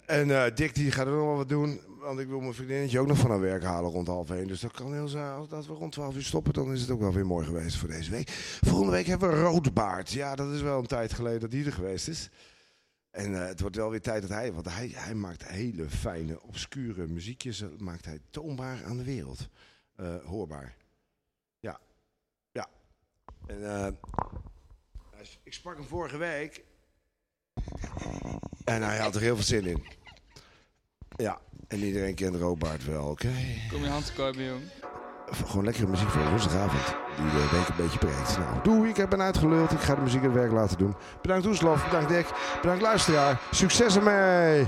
En Dick die gaat er nog wel wat doen. Want ik wil mijn vriendinnetje ook nog van haar werk halen rond 12:30. Dus dat kan heel zijn. Als we rond 12 uur stoppen, dan is het ook wel weer mooi geweest voor deze week. Volgende week hebben we Roodbaard. Ja, dat is wel een tijd geleden dat hij er geweest is. En het wordt wel weer tijd dat want hij maakt hele fijne, obscure muziekjes. Maakt hij toonbaar aan de wereld. Hoorbaar. Ja. Ja. En ik sprak hem vorige week. En hij had er heel veel zin in. Ja, en iedereen kent Roodbaard wel, oké? Kom je hand te kopen, jong. Gewoon lekkere muziek voor woensdagavond. Die de week een beetje breekt. Nou, doei, ik ben uitgeluld. Ik ga de muziek het werk laten doen. Bedankt Oeslof, bedankt Dick, bedankt luisteraar. Succes ermee!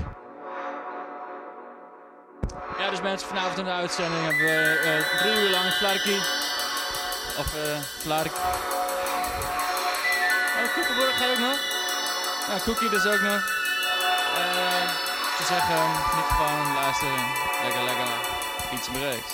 Ja, dus mensen, vanavond in de uitzending hebben we 3 uur lang Flarky. Of Flark. Oh, Koekenborg ga je ook nog? Ja, Cookie dus ook nog. Te zeggen, niet gewoon luisteren. Lekker. Iets breaks.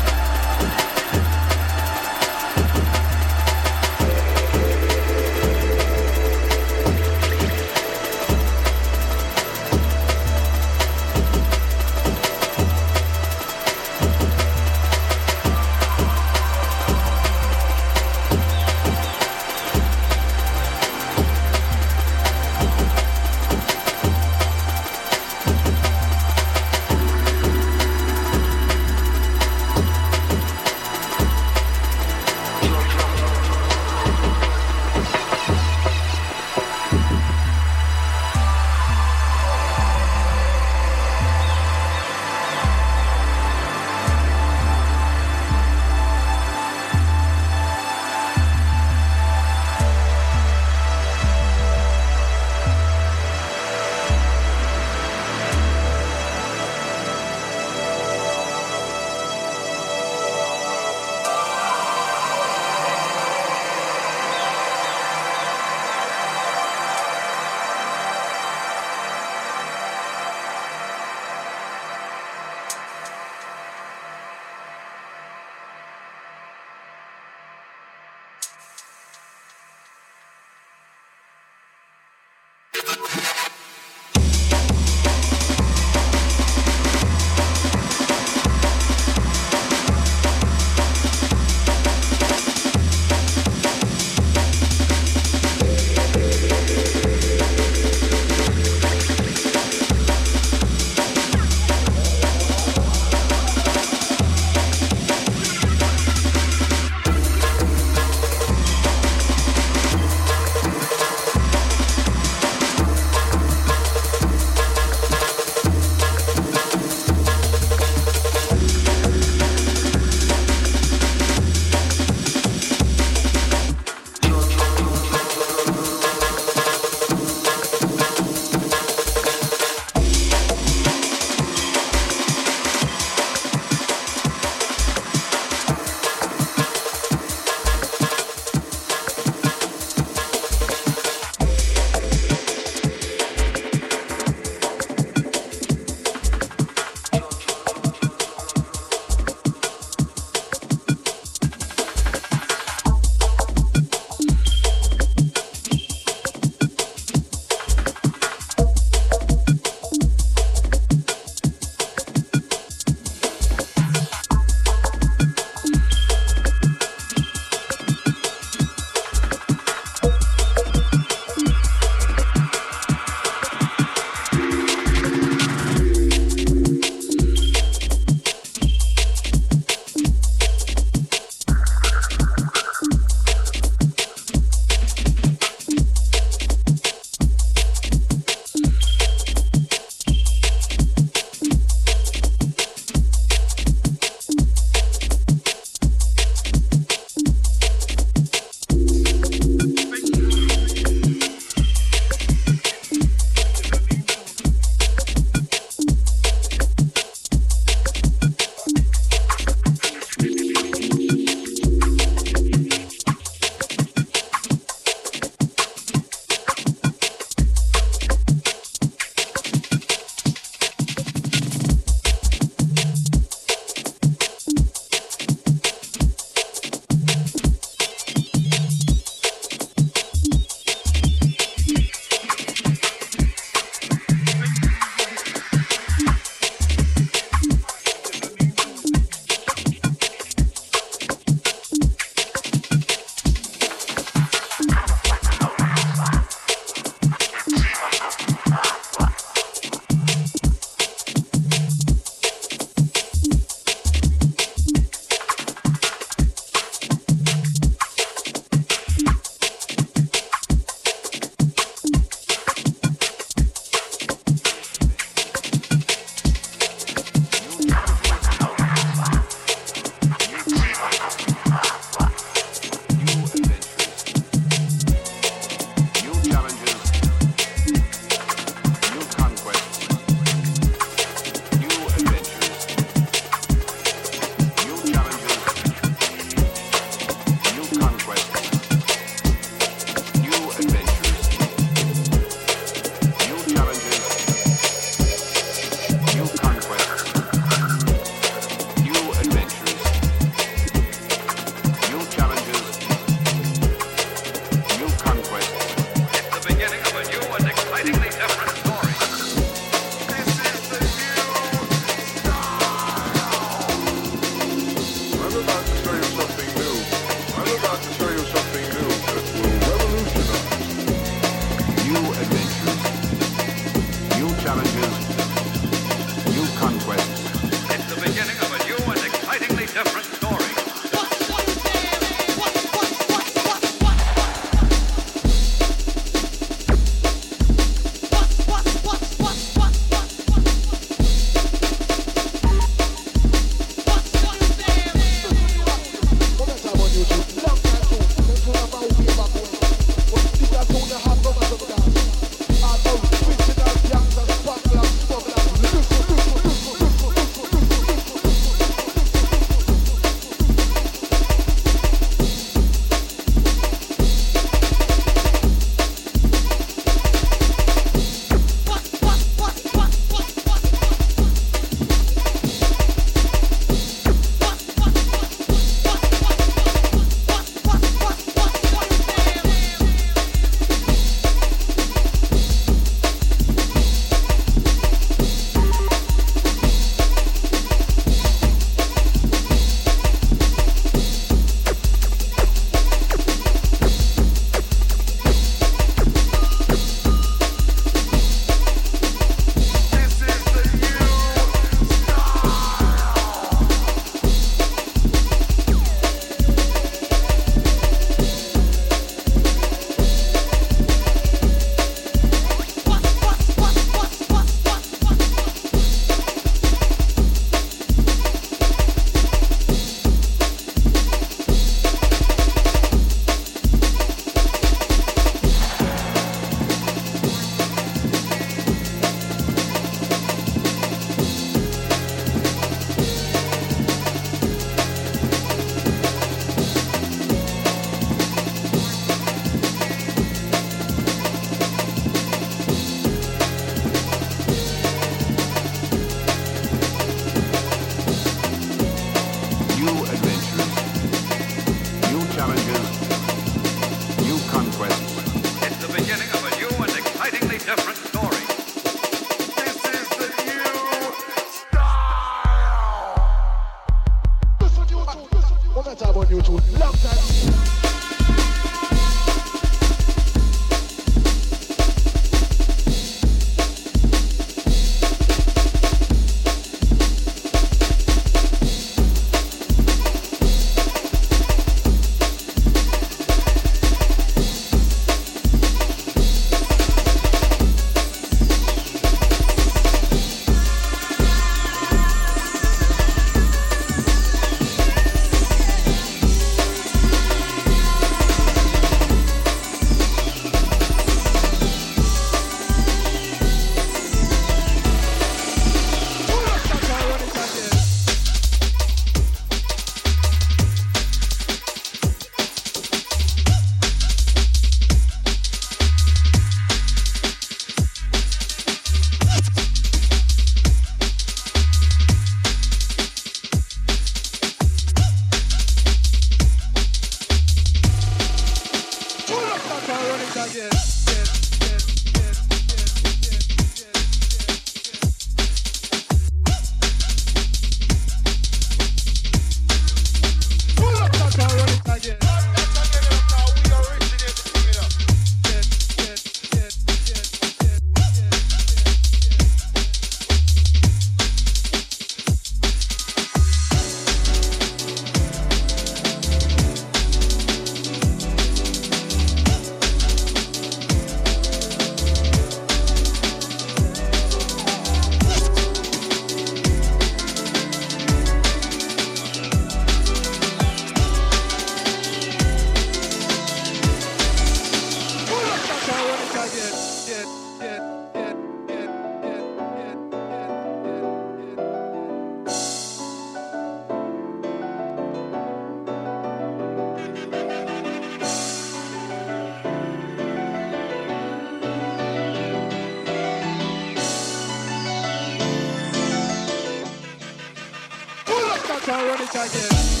run it again.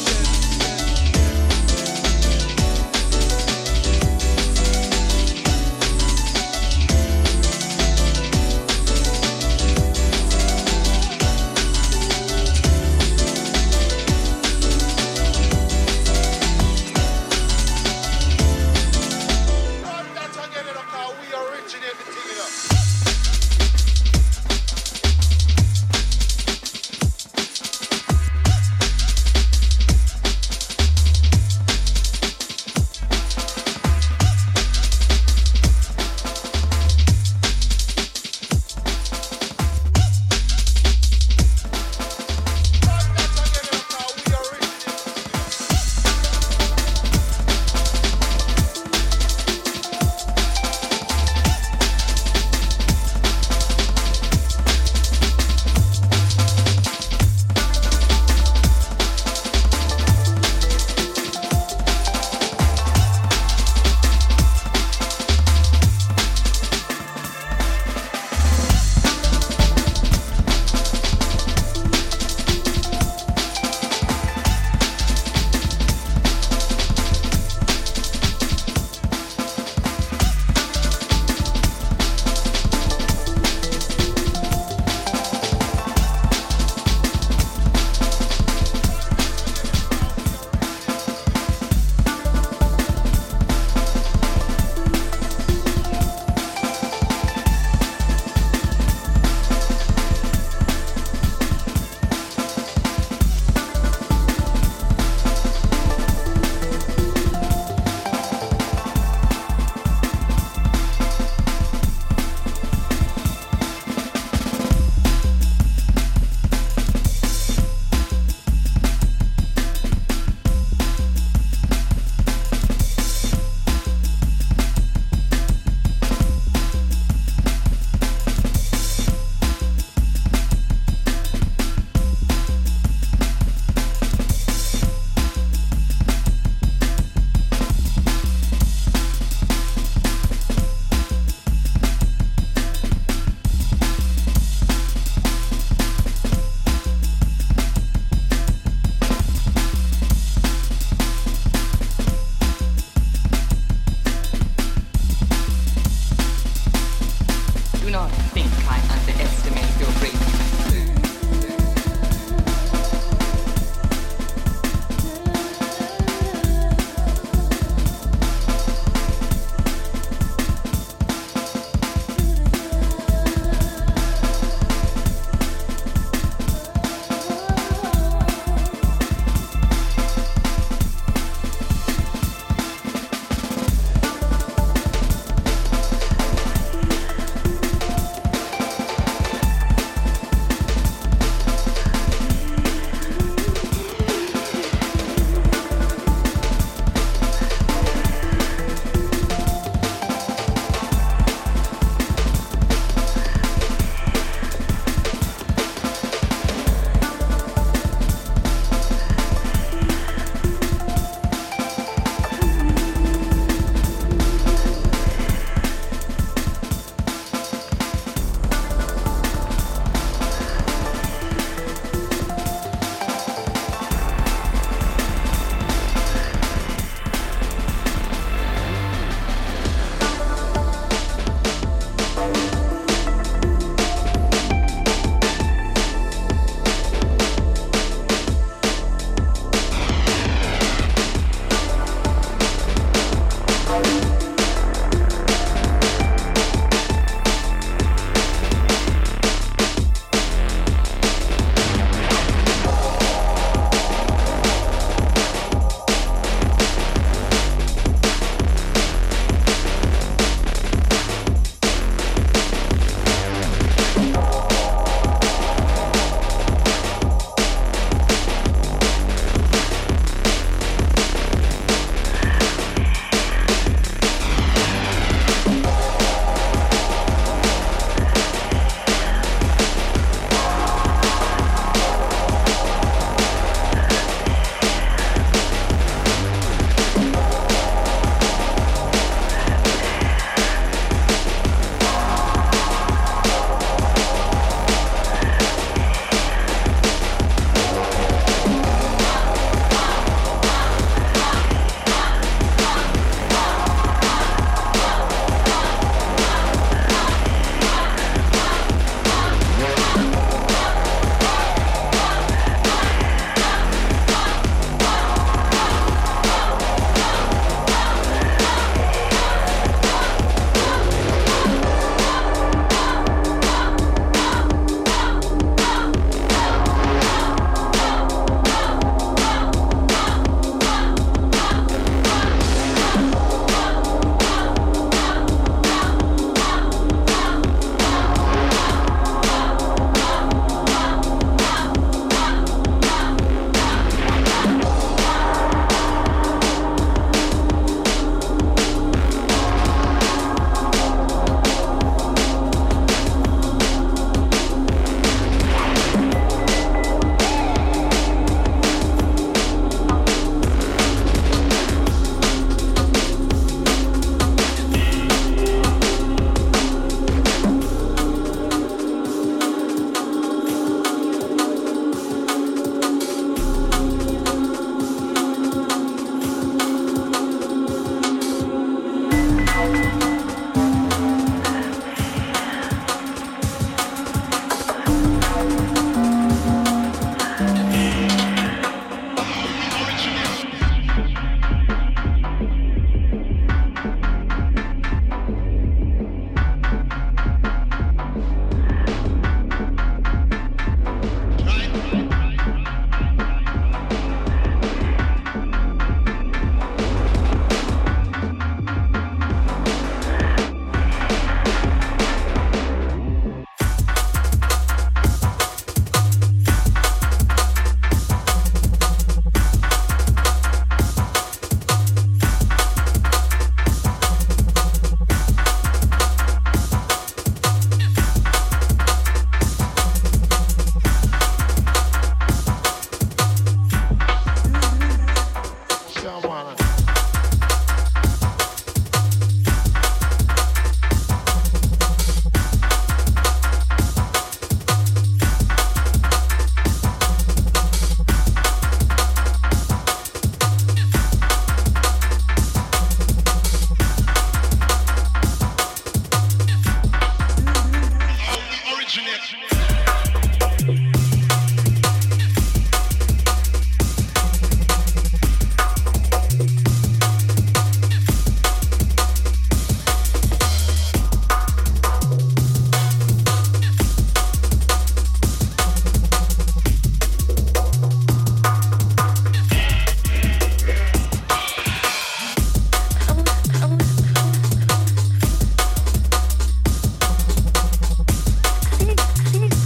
I think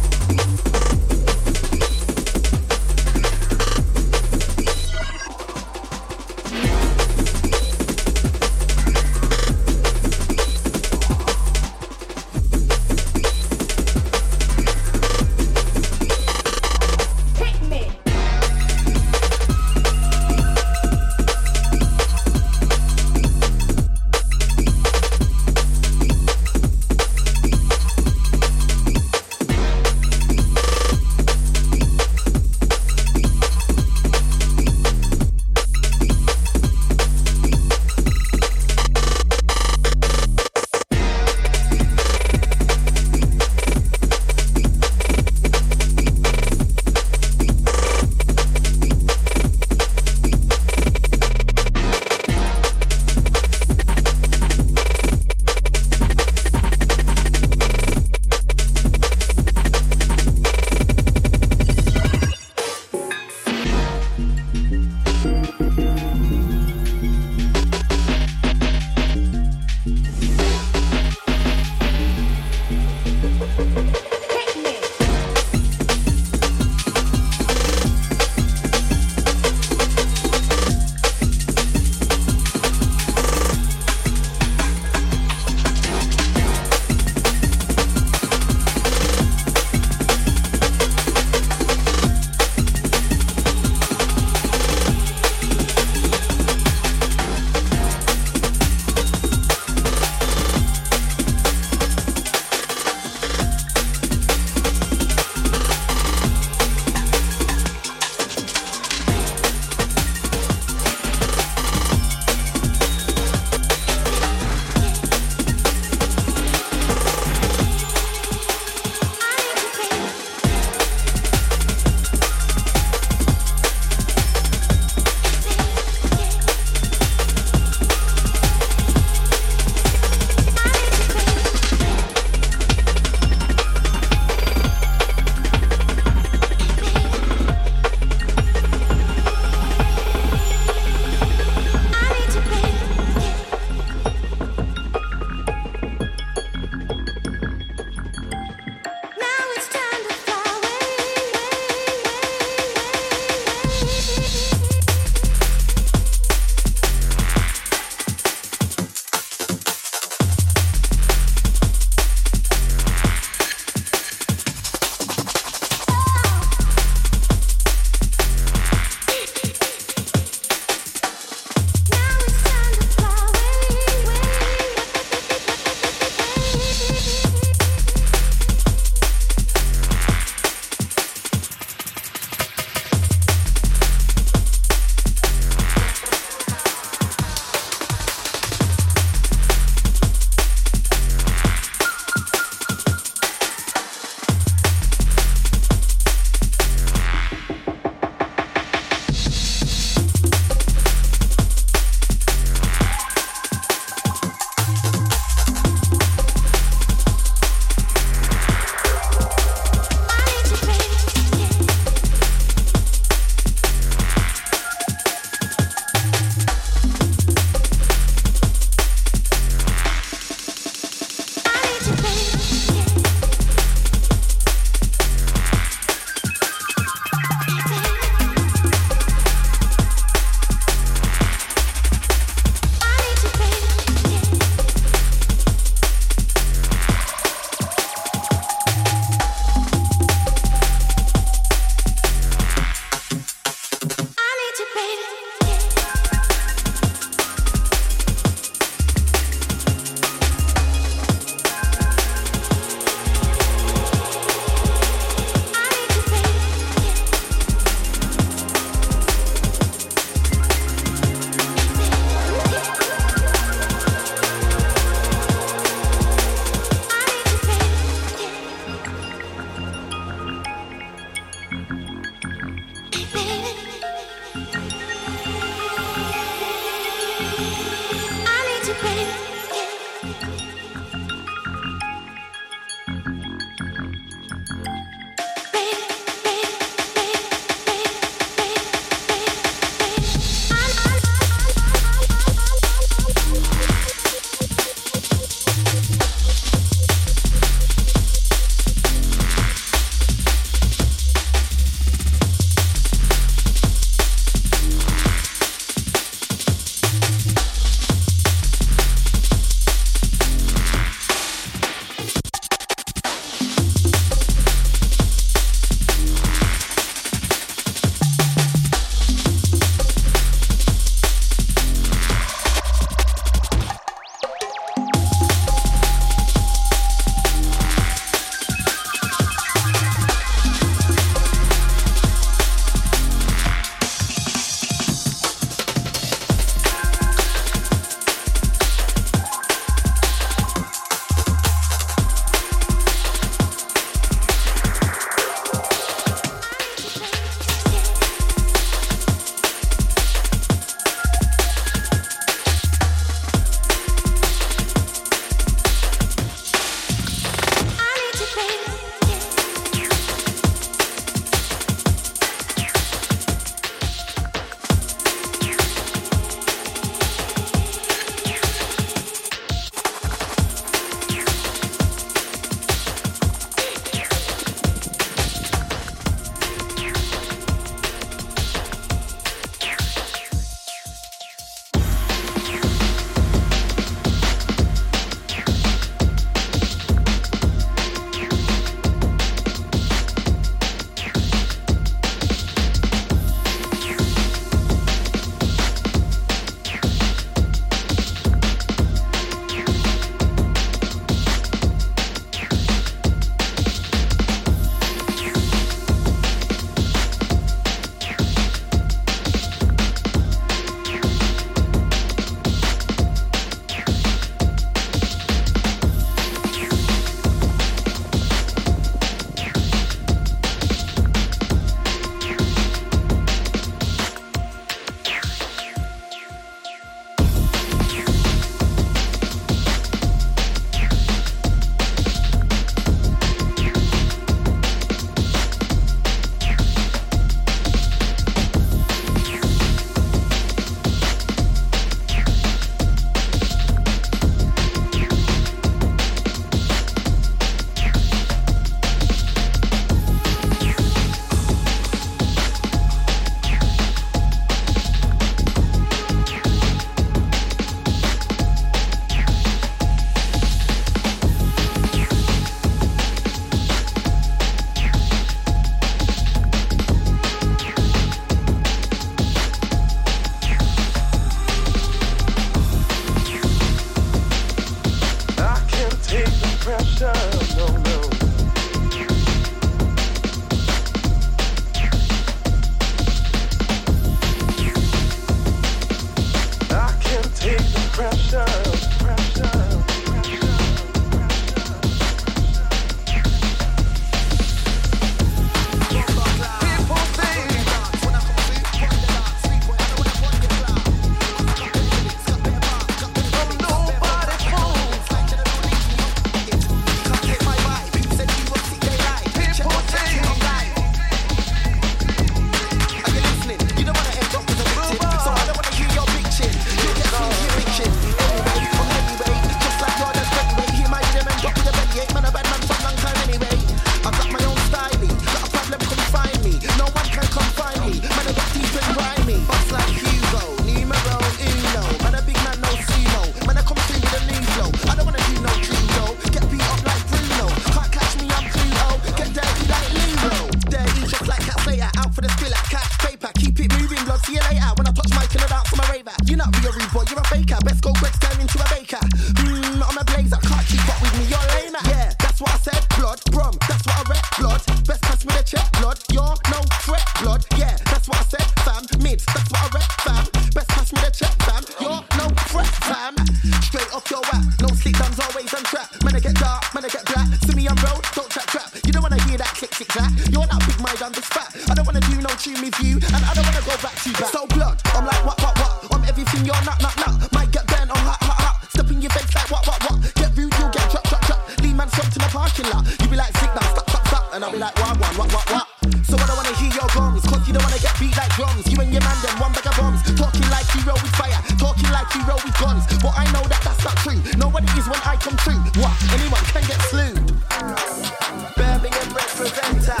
You're no threat, blood. Yeah, that's what I said, fam. Mids, that's what I rep, fam. Best pass me the check, fam. You're no threat, fam. Straight off your whack. No sleep duns, always on trap. Man, I get dark, man, I get black. See me on road, don't trap trap. You don't wanna hear that click click clack. You're not big mind, I'm just fat. I don't wanna do no tune with you, and I don't wanna go back to back. So blood, I'm like what? I'm everything you're not. Might get bent, I'm hot. Step in your face like what? Get rude, you'll get drop. Lean man stopped in the parking lot. You be like sick now, stop. And I'll be like what? So I don't wanna hear your gums, cause you don't wanna get beat like drums. You and your man them, one bag of bombs. Talking like you roll with fire, talking like you roll with guns. But I know that that's not true. Nobody is when I come through. What? Anyone can get slew. Birmingham representer.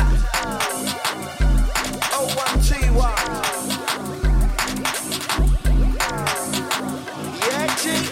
0121. Yeah, G.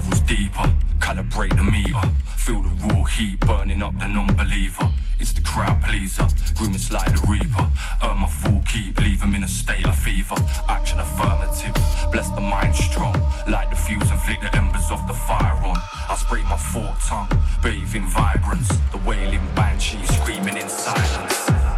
levels deeper, calibrate the meter. Feel the raw heat burning up the non-believer. It's the crowd pleaser, grimace like the reaper. Earn my full keep, leave them in a state of fever. Action affirmative, bless the mind strong. Light the fuse and flick the embers off the fire on. I spray my forked tongue, bathe in vibrance. The wailing banshee screaming in silence.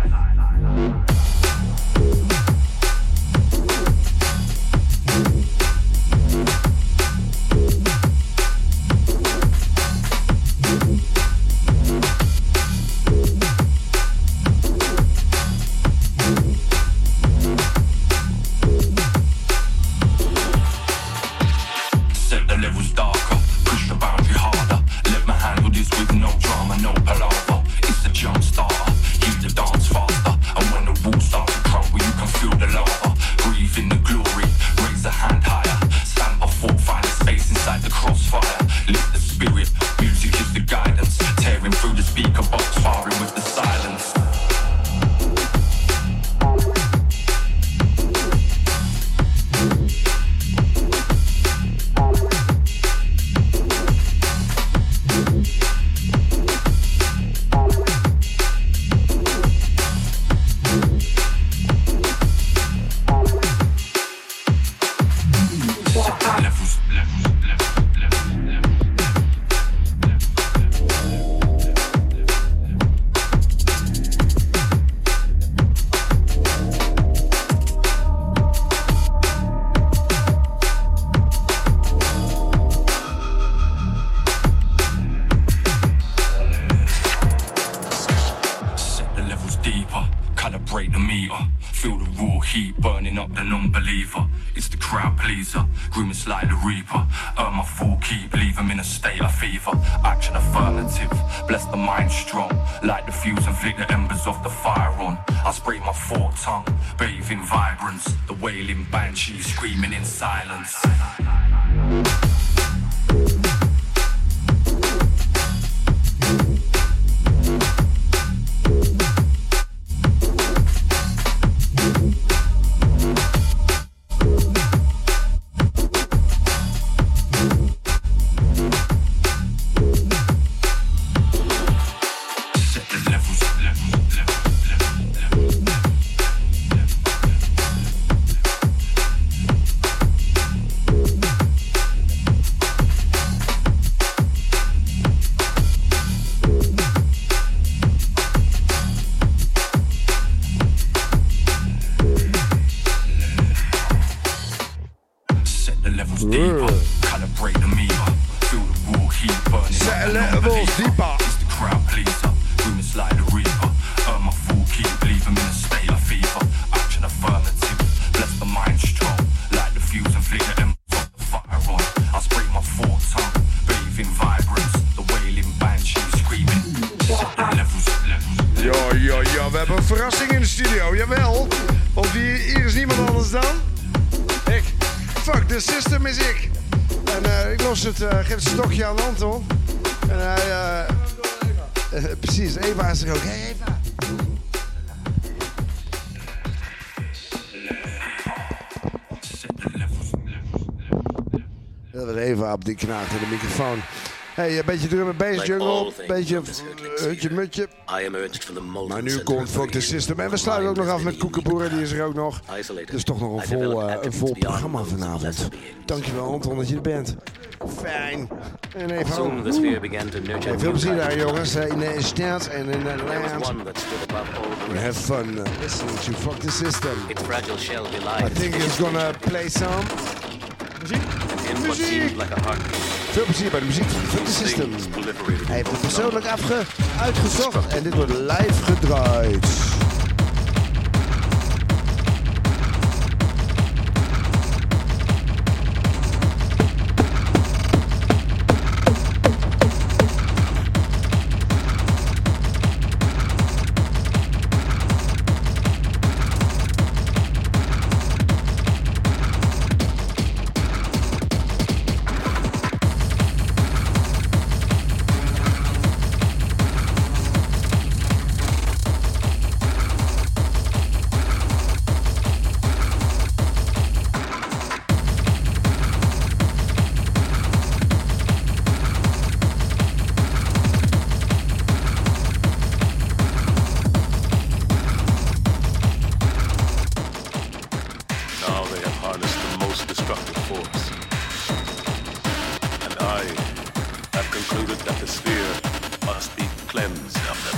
Grimace like the reaper, earn my full keep, leave them in a state of fever. Action affirmative, bless the mind strong. Light the fuse and flick the embers off the fire on. I spray my forked tongue, bathe in vibrance. The wailing banshee screaming in silence. Geef het stokje aan Anton. En hij... precies, Eva is er ook. Hey Eva. Dat was Eva op die knaagt in de microfoon. Hey, een beetje drum en bass jungle, een beetje hutje mutje. Maar nu komt Fuck the System. En we sluiten ook nog af met Koekenboer, die is er ook nog. Dus toch nog een vol programma vanavond. Dankjewel Anton dat je er bent. Fijn. En even ook. Veel plezier daar jongens, in de stad en in de land. Have fun listening to Fuck the System. I think it's gonna play some muziek. Veel plezier bij de muziek van Fuck the System. Hij heeft het persoonlijk uitgezocht en dit wordt live gedraaid. harness the most destructive force. And I have concluded that the sphere must be cleansed of them.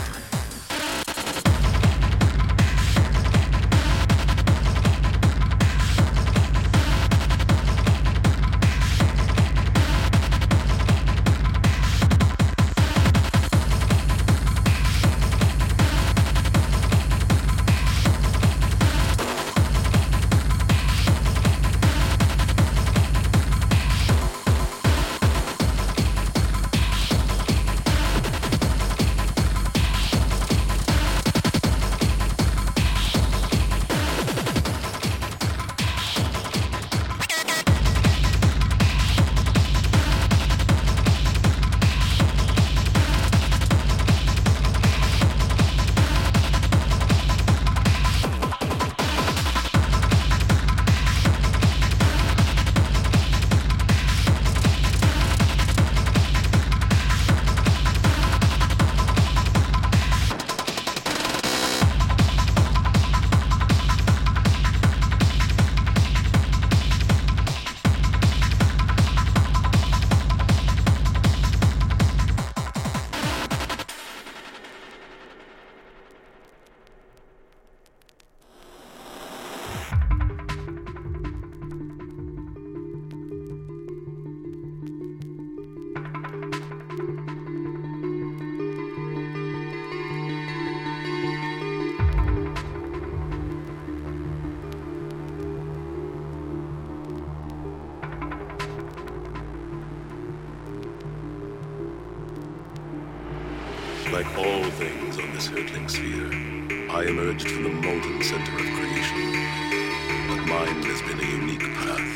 Like all things on this hurtling sphere, I emerged from the molten center of creation. But mine has been a unique path.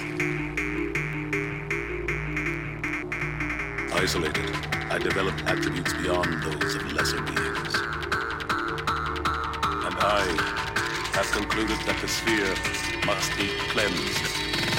Isolated, I developed attributes beyond those of lesser beings. And I have concluded that the sphere must be cleansed.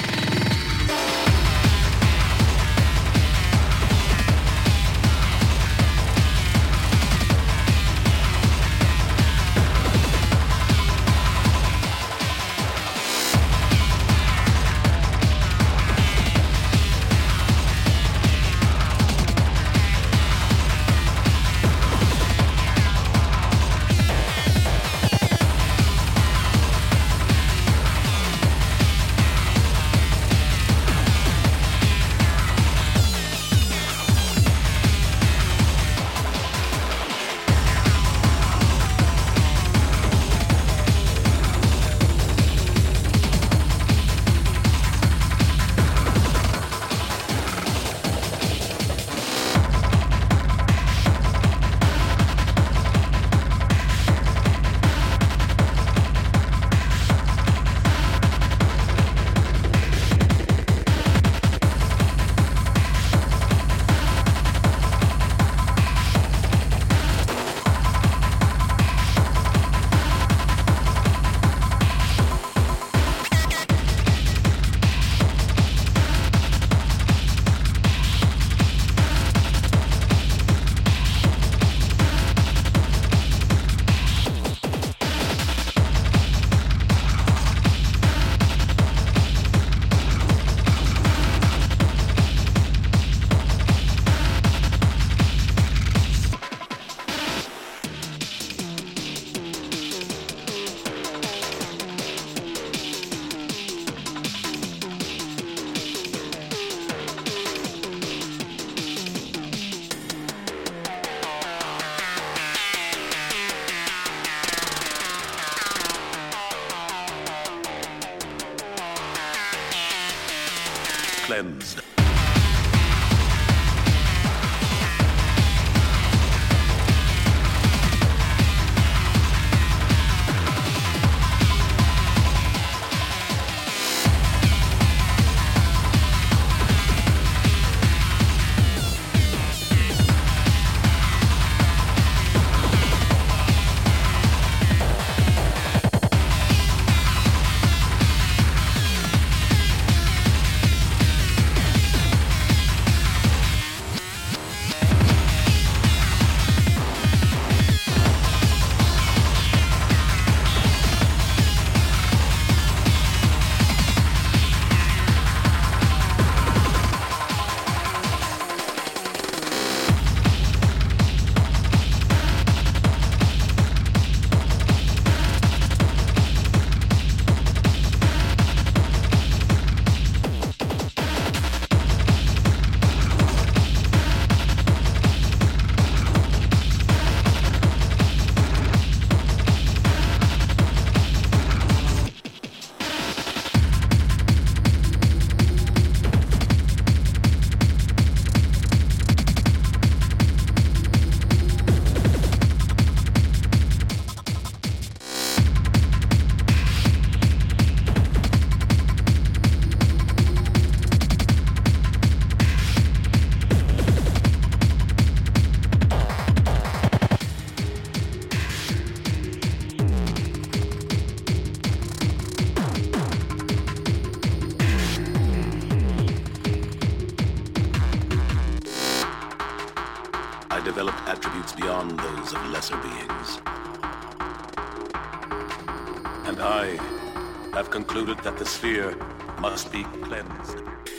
Cleansed. attributes beyond those of lesser beings. And I have concluded that the sphere must be cleansed.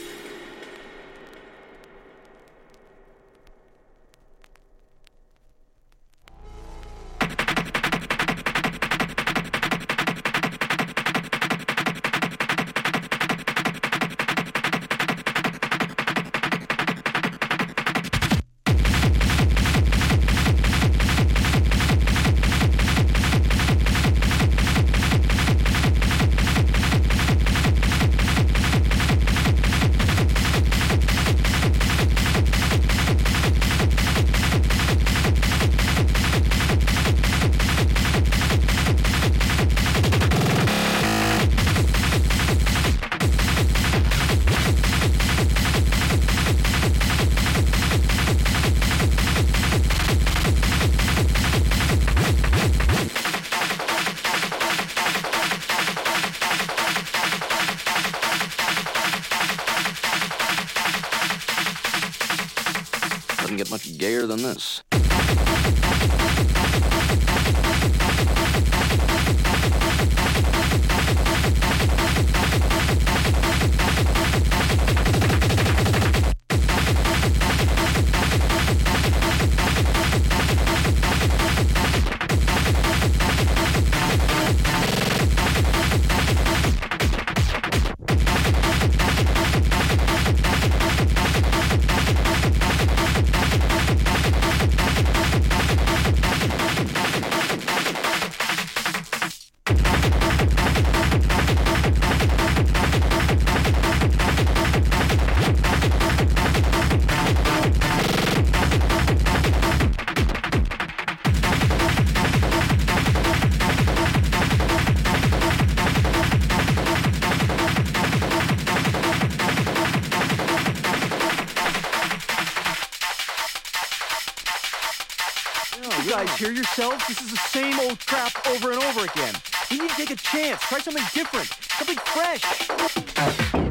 Doesn't get much gayer than this. You guys hear yourselves? This is the same old crap over and over again. You need to take a chance. Try something different. Something fresh.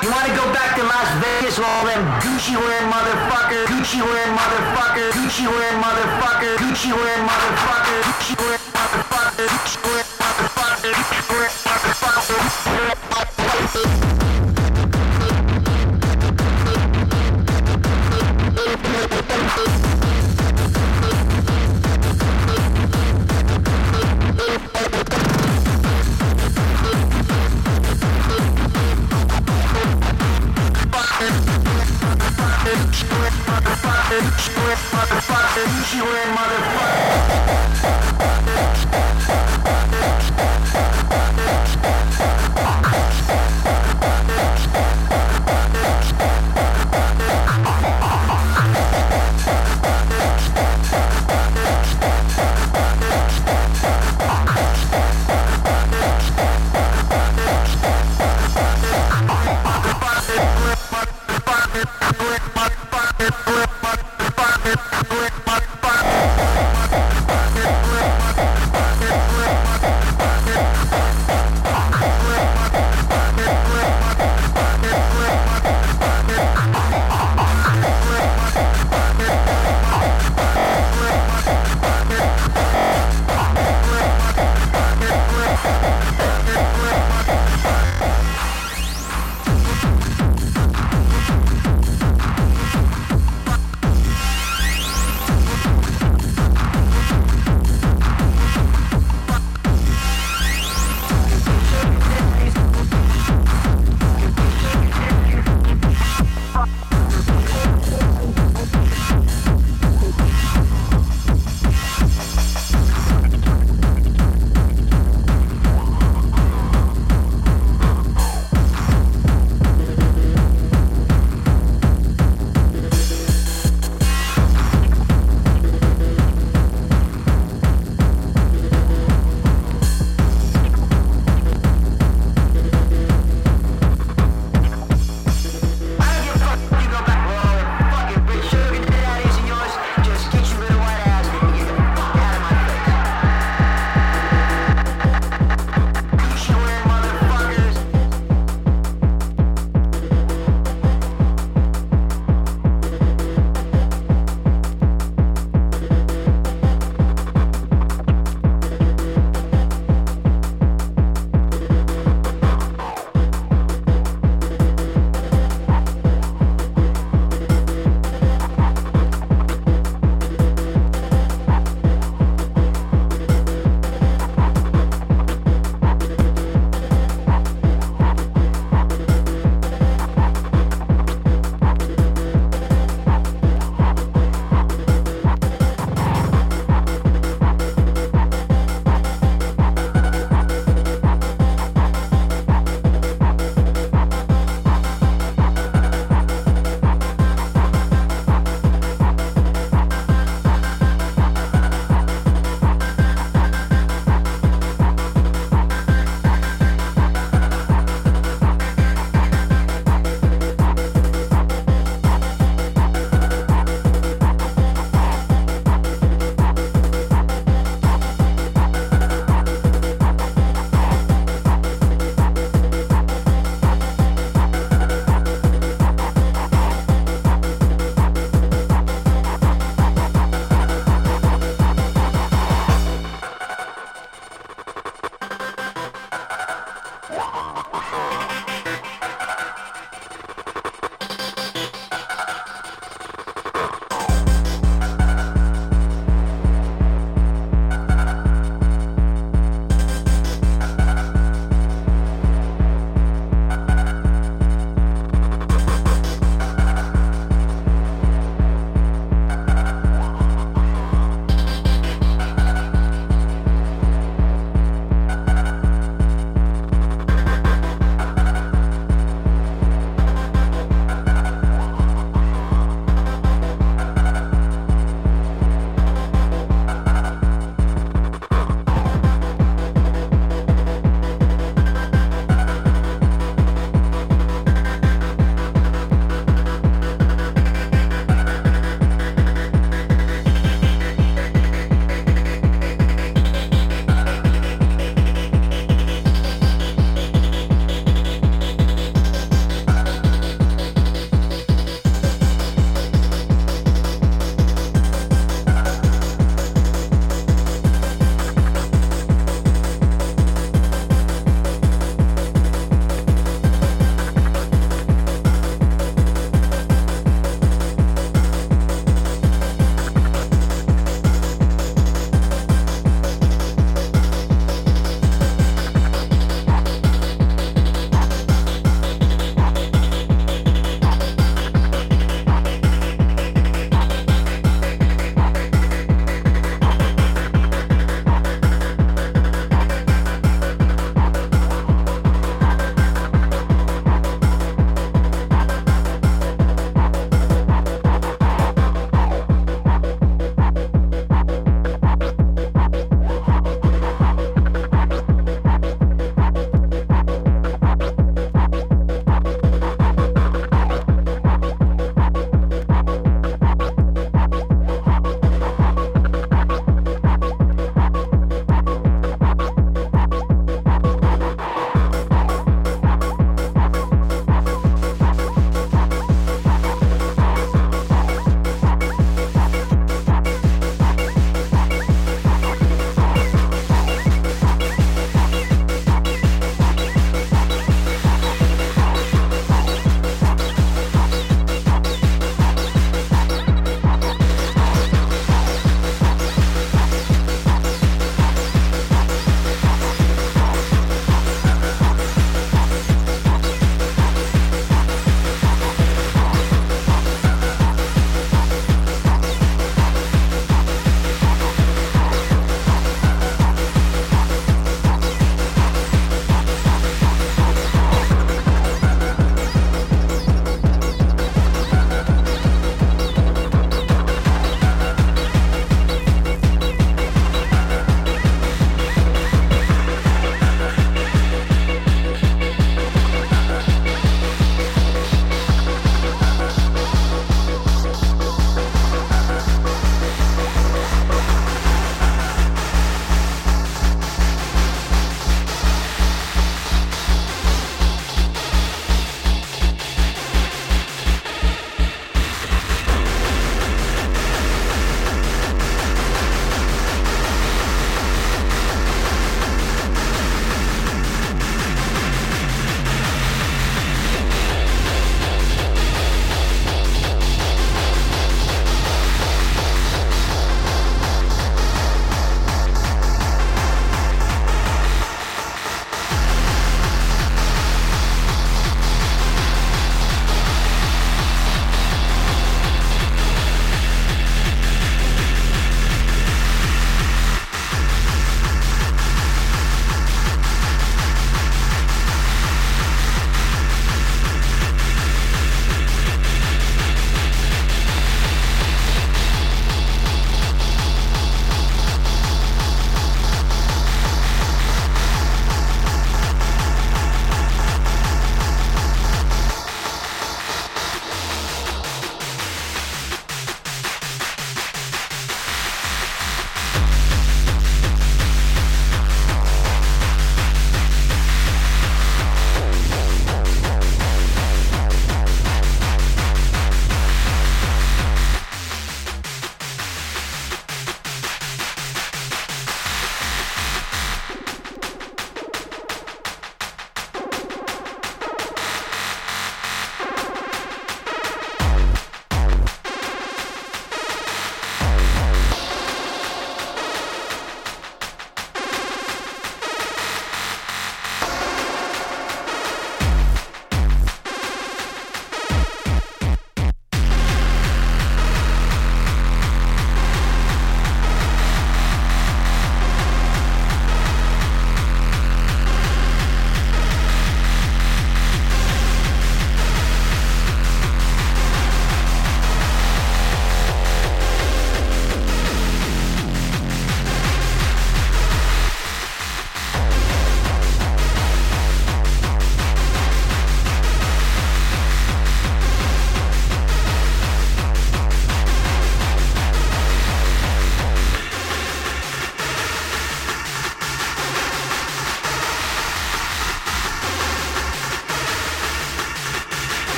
You wanna go back to Las Vegas with all them Gucci wearing motherfucker, Gucci wearing motherfucker, Gucci wearing motherfucker, Gucci wearing motherfucker, Gucci wearing motherfucker, Gucci wearing motherfucker, Gucci wearing motherfucker. She wearing motherfucker.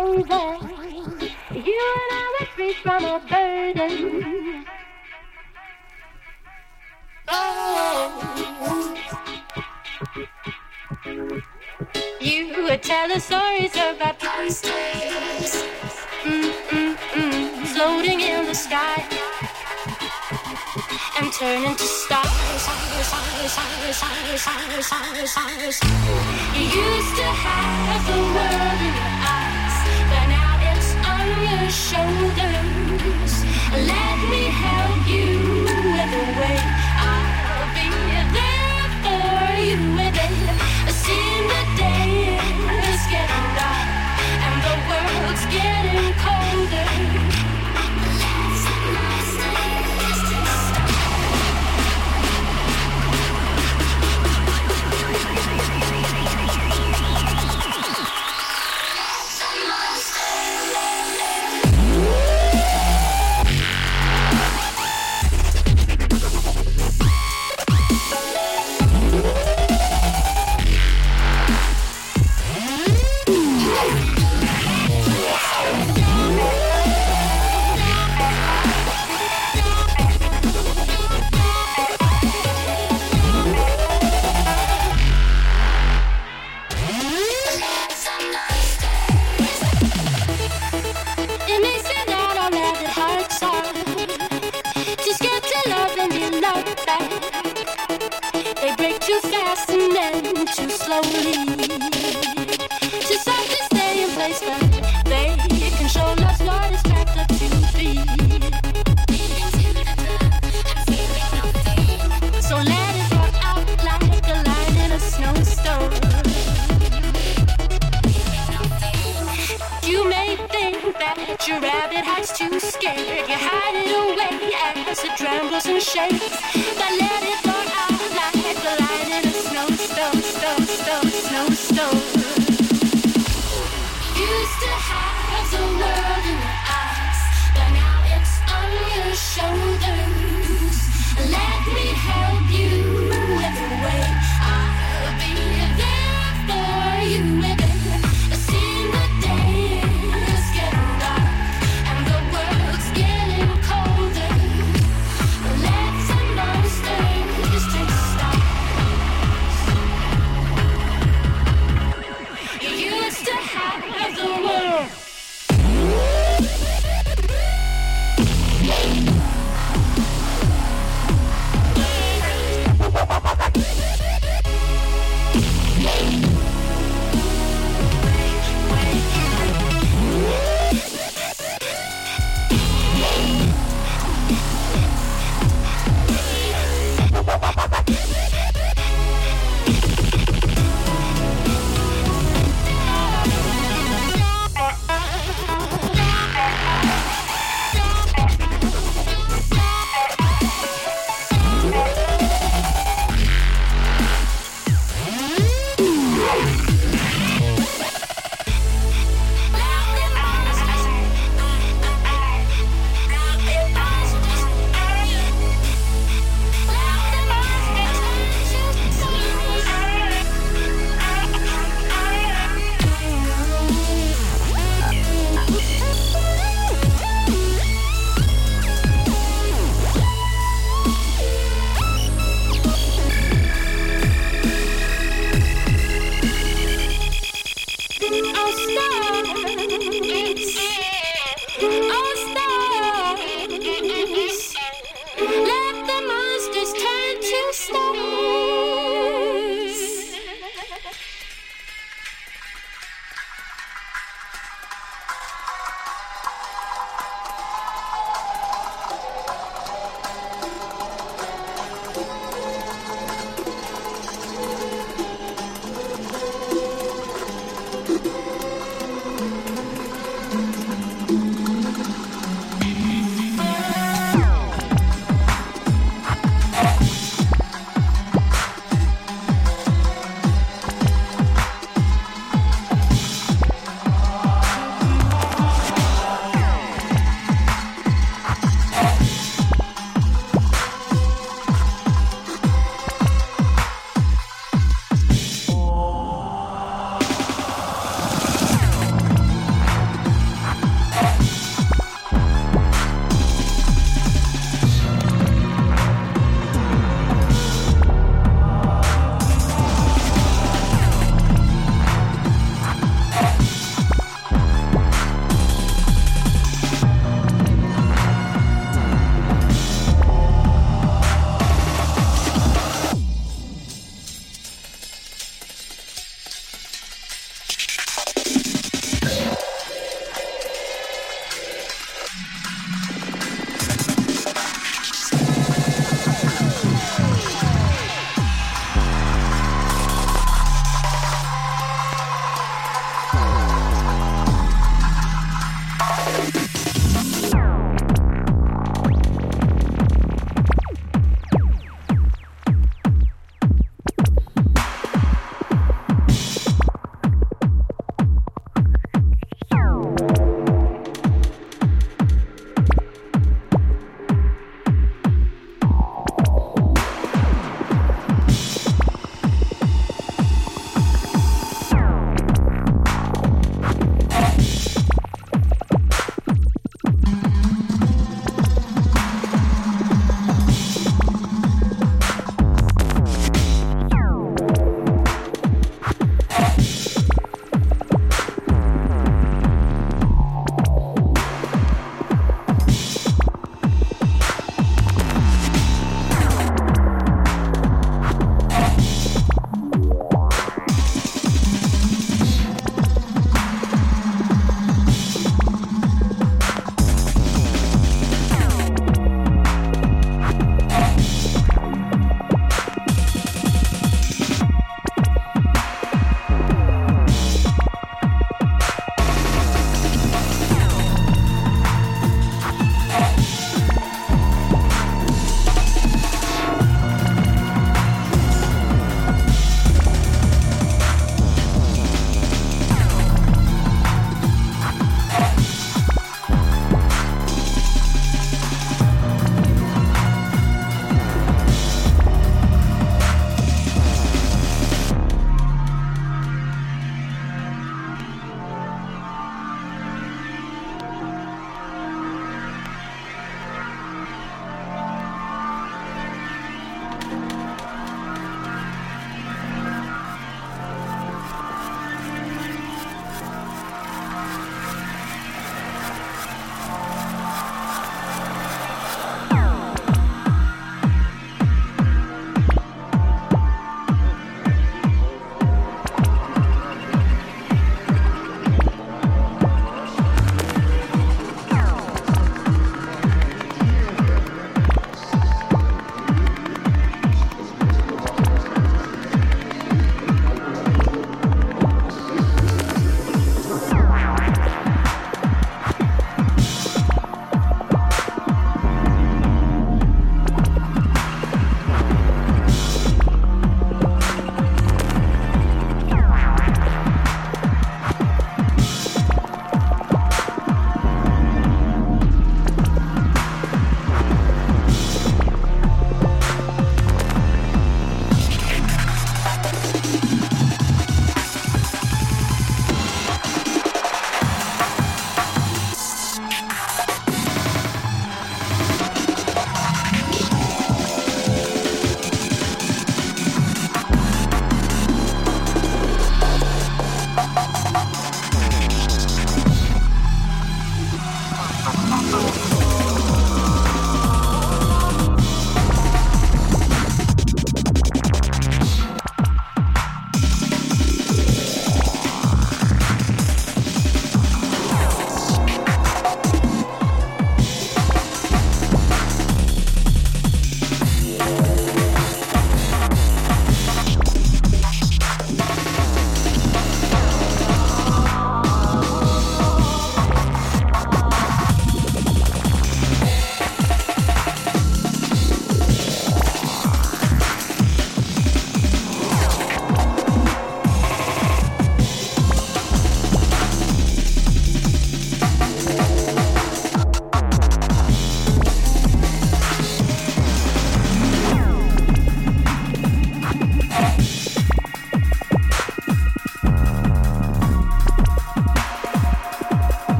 over. You and I were free from a burden. Oh. You would tell us stories about past days, floating in the sky and turning to stars. You used to have the world in your eyes, but now it's on your shoulders. Let me help you with the way. I'll be there for you with it. See the day is getting dark and the world's getting colder. They break too fast and then too slowly. Too soft to stay in place, but they can show us what it's cracked up to be. So let it rock out like a line in a snowstorm. You may think that your rabbit hide's too scared. You hide it away as it trembles and shakes. But let it rock out like a line in a snowstorm. Used to have the world in your eyes, but now it's on your shoulders. Let me help you with the way. I'll be there for you with it. See the day is getting dark and the world's getting colder. Let's monster.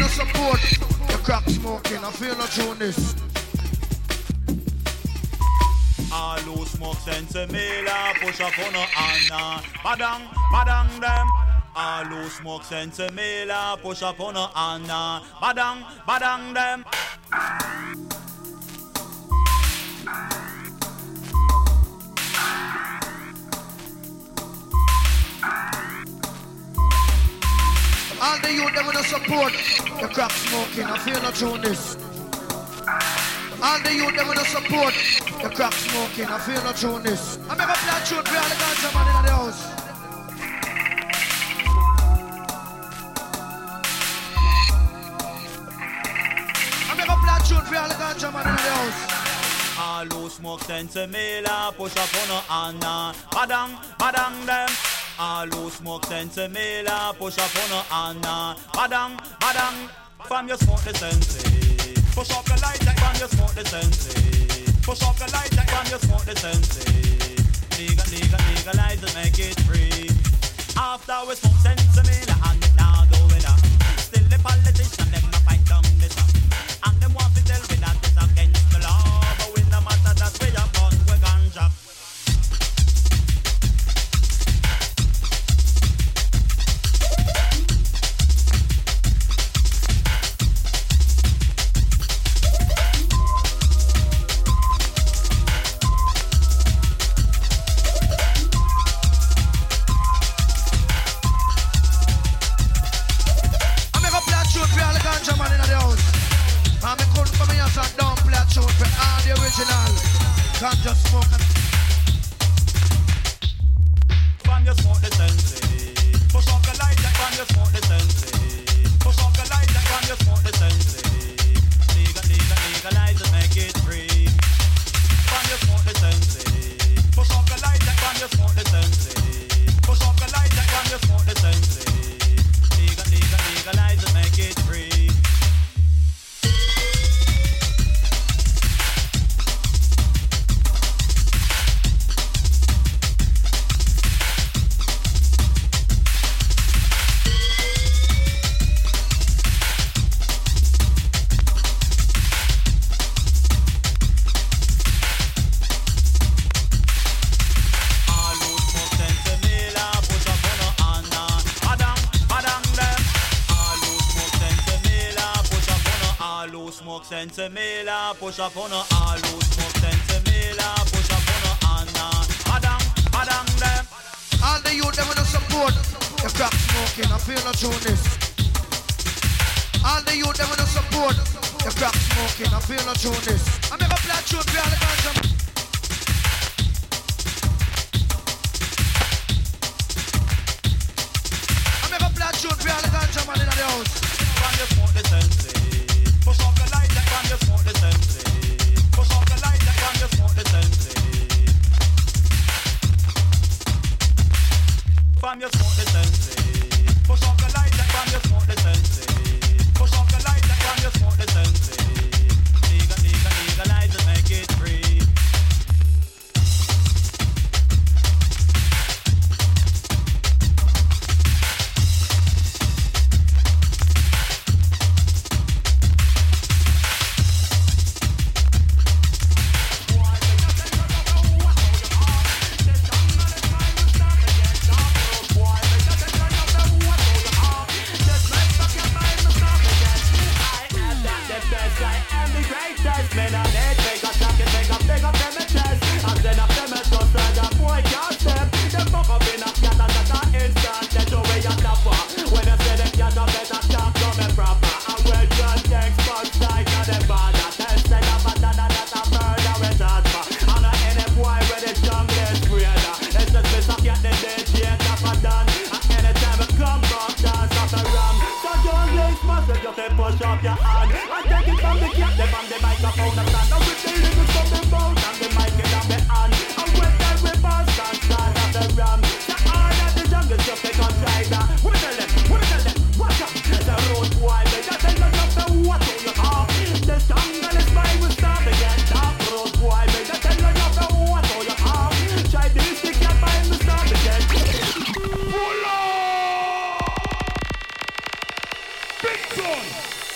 no support. The crack smoking, I feel no trueness. All who smoke sensimilla, push up on a Anna. Badang, badang them. All who smoke sensimilla, push up on a Anna. Badang, badang them. All the youth them with no support. The crack smoking, I feel no trueness. All the youth them with no support. The crack smoking, I feel no trueness. I make a play tune for all the ganja man in the house. I make a play tune for all the ganja man in the house. All who smoke sensimilla, push up on a Anna. Badang, badang them. All who smoke sensimilla, push up on a Anna. Badang, badang. From your smoke the sensi. Push up the light like from your smoke the sensi. Push up the light like from your smoke the sensi. Legalize and make it free. After we smoke sensimilla and it now doing that. Still the politician them not fight down this up. And them want to tell me that it's against the law. But we no matter that we are born with ganja. Can't just smoke and from your smoke the sensi. Push up the light like from your smoke the sensi. Push up the light like from your smoke the sensi. Legalize and make it free. From your smoke the sensi. Push up the light like from your smoke the sensi. Push up the light like from your smoke the sensi. Legalize and make it free. Sensimilla, push up on a all who smoke sensimilla, push up on a Anna. Badang, badang them. All the youth them with no support. The crack smoking, I feel no trueness. All the youth them with no support. The crack smoking, I feel no trueness. I make a play tune for all the ganja. I make a play tune for all the ganja man in the house. From your smoke the sensi. Push up the light like from your smoke the sensi. Push up the light like from your smoke the sensi. From your smoke the sensi. Push up the light like from your smoke the sensi. Push up the light like from your smoke the sensi. Legalize and make it free. Push up your hand and take it from the cat, them on the microphone and stand up with the lyrics from the mouth and the mic in the hand. And when the reverse and start at the ram, the art of the jungle just take on China. What tell them? Watch out! The road boy, they got the look of the water you have. The jungle is by we start to get dark. Road boy, they got the look of the water you have. Chinese stick your by we start to get Big son!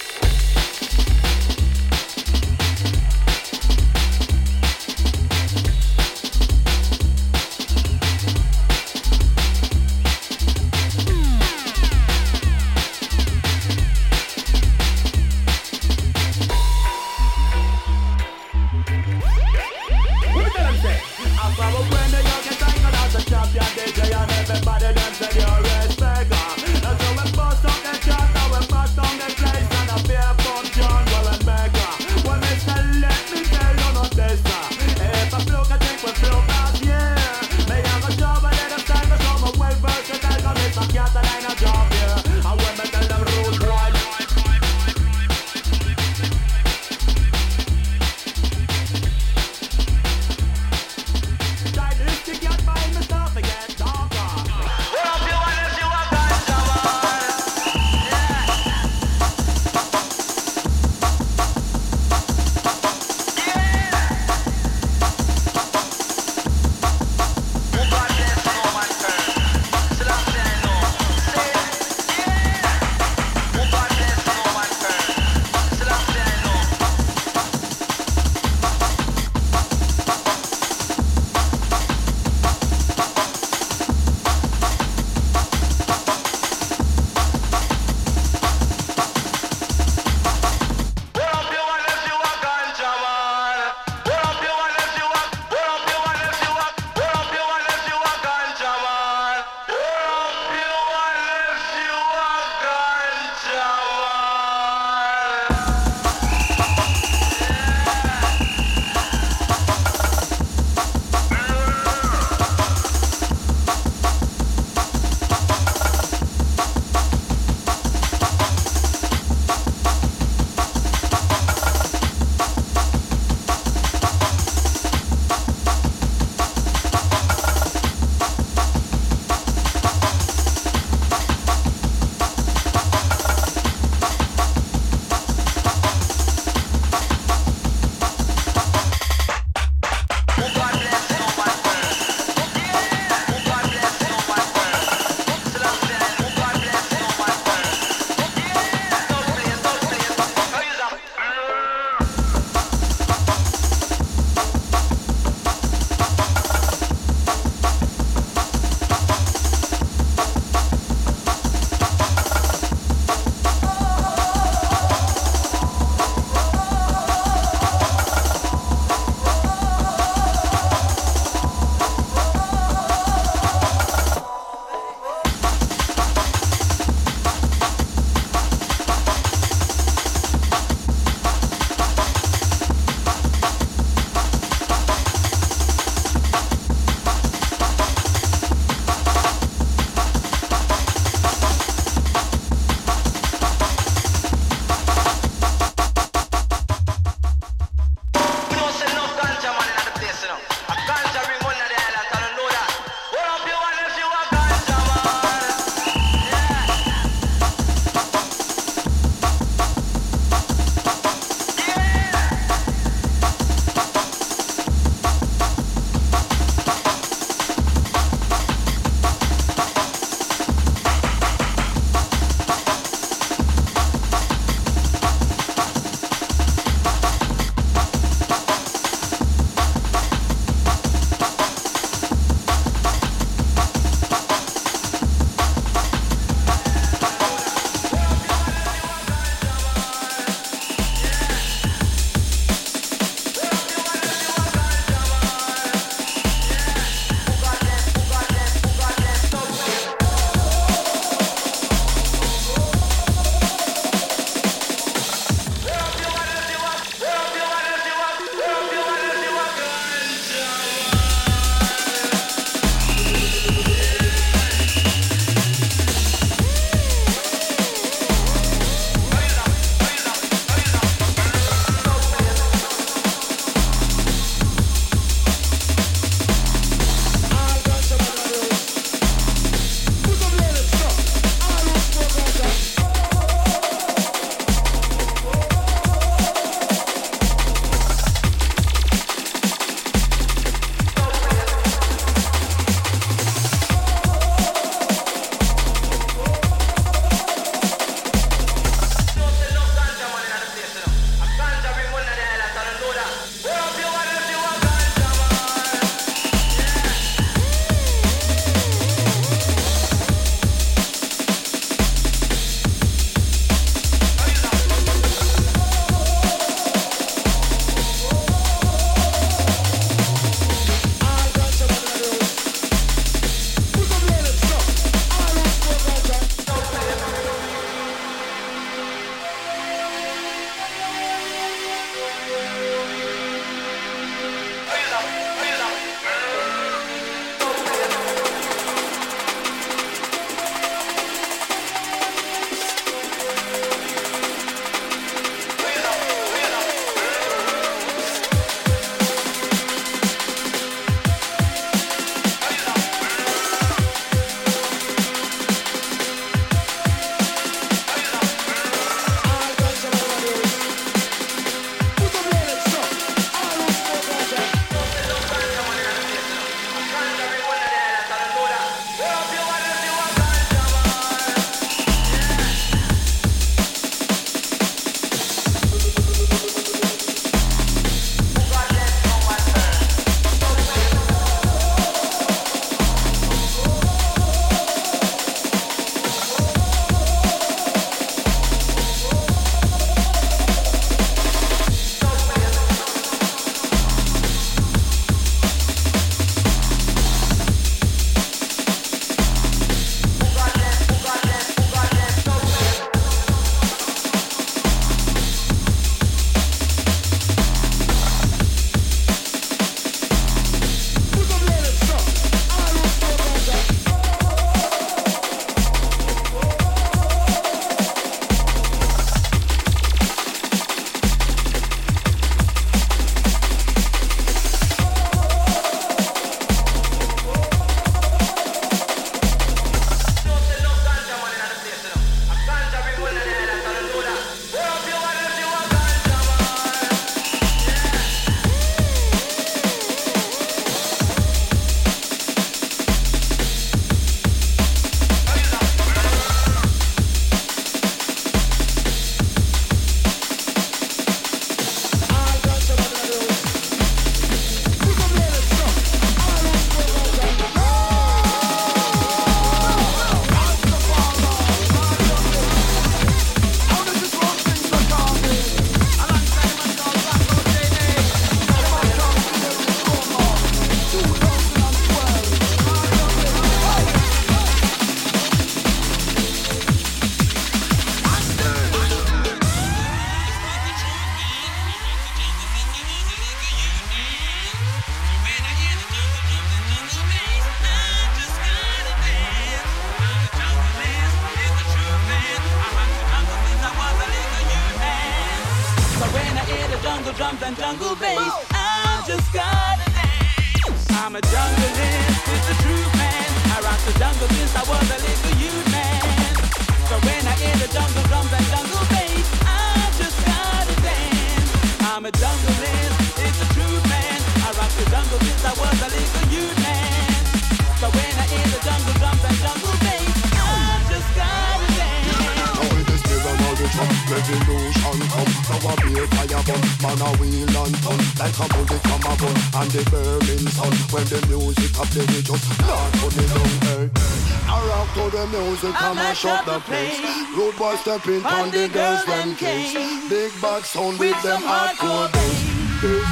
jungle drums and jungle bass, I just gotta dance. I'm a jungleist, it's the truth, man. I rock the jungle since I was a little youth, man. So when I hear the jungle drums and jungle bass, I just gotta dance. I'm a jungleist, it's the truth, man. I rock the jungle since I was a little youth, man. So when I hear the jungle drums and jungle bass, I just gotta dance. Now with the spirit of the drum, revolution come. Now a beer fire burn, man a wheel and turn, like a bullet from a gun, and the burning sun. When the music a play, we just not put it down, hey. I rock to the music, I mash up the place. Road boys stepping on the girls them case. Big bad sound with them hardcore bass.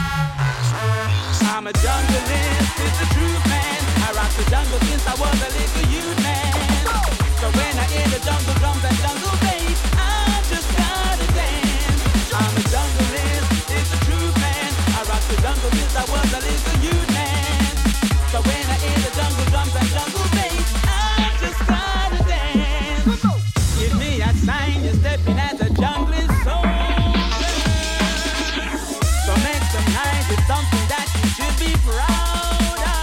I'm a jungleist, it's the truth, man. I rock the jungle since I was a little youth, man. So when I hear the jungle drums and jungle bass, I just gotta dance. I'm a jungleist, it's the truth, man. I rock the jungle since I was a little youth, man. So when I hear the jungle drums and jungle bass, I just gotta dance. Give me a sign, you're stepping as a junglist soldier. So make some noise, it's something that you should be proud of.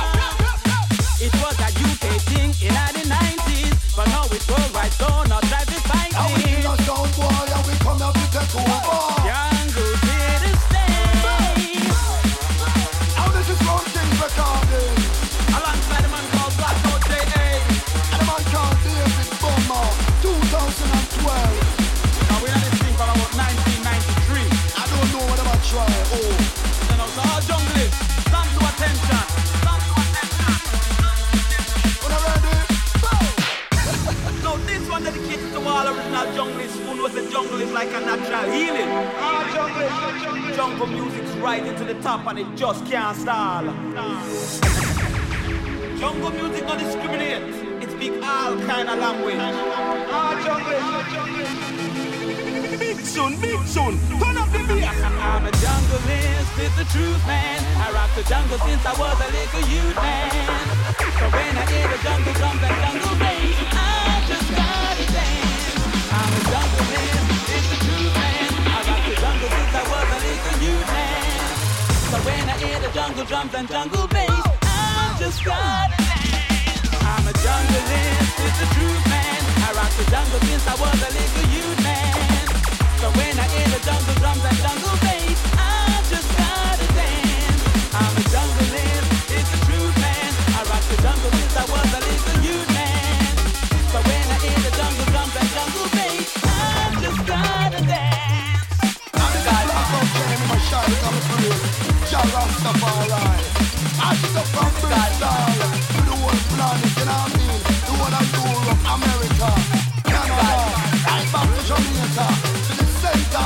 It was a UK thing in the 90s, but now it's worldwide, so not try to fight it. Now we in a sound boy, and we come out to take over. Jungle here to stay. Now this is Ron King's recording, alongside a man called Black Out J.A. and a man called David Bummer, 2012. Now we're on this thing for about 1993. I don't know what I'm try. Oh, you know, so all junglists, stand to attention. Stand to attention. when I'm ready, Now this one dedicated to all original junglists who knows the jungle is like a natural healing. Jungle music's rising to the top and it just can't stall. Jungle music don't discriminate. It speaks all kind of language. Big soon, turn up the beat. I'm a jungleist, it's the truth, man. I rock the jungle since I was a little youth, man. So when I hear the jungle drums and jungle bass, I just gotta dance. I'm a jungleist, it's the truth, man. I rock the jungle since I was a little youth, man. So when I hear the jungle drums and jungle bass, I just gotta dance. I'm a jungleist, it's the truth, man. I rock the jungle since I was a little youth, man. So when I hear the jungle drums and jungle bass, I just gotta dance. I'm a jungleist, it's the truth, man. I rock the jungle since I was a little youth, man. So when I hear the jungle drums and jungle bass, I just gotta dance. I'm the guy that's up there in my shot, I'm a real Jah Rastafari. I step from Bristol to the whole planet, you know what I mean? The whole of Europe, America, Canada, right back to Jamaica, to the center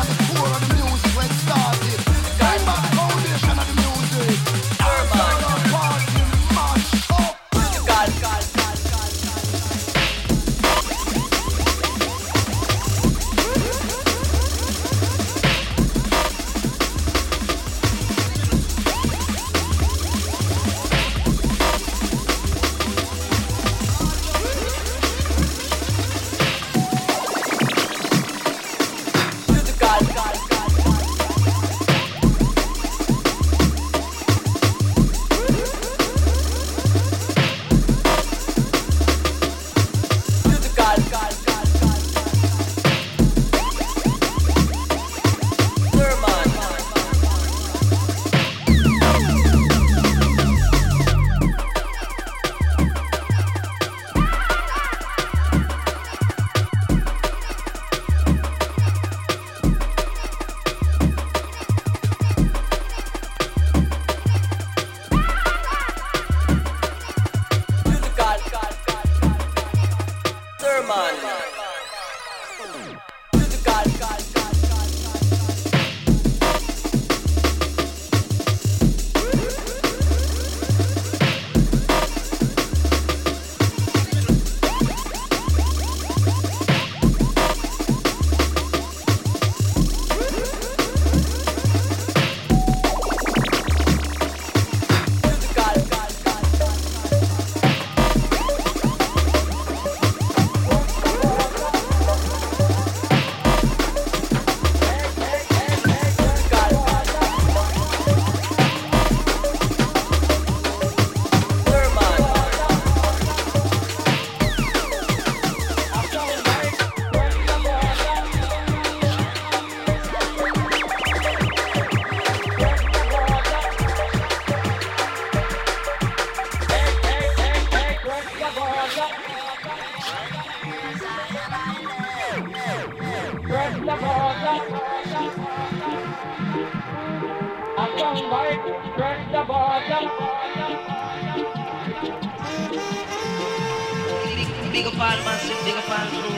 Big up all massive, big up all crew.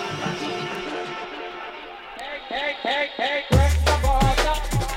Hey, break the border.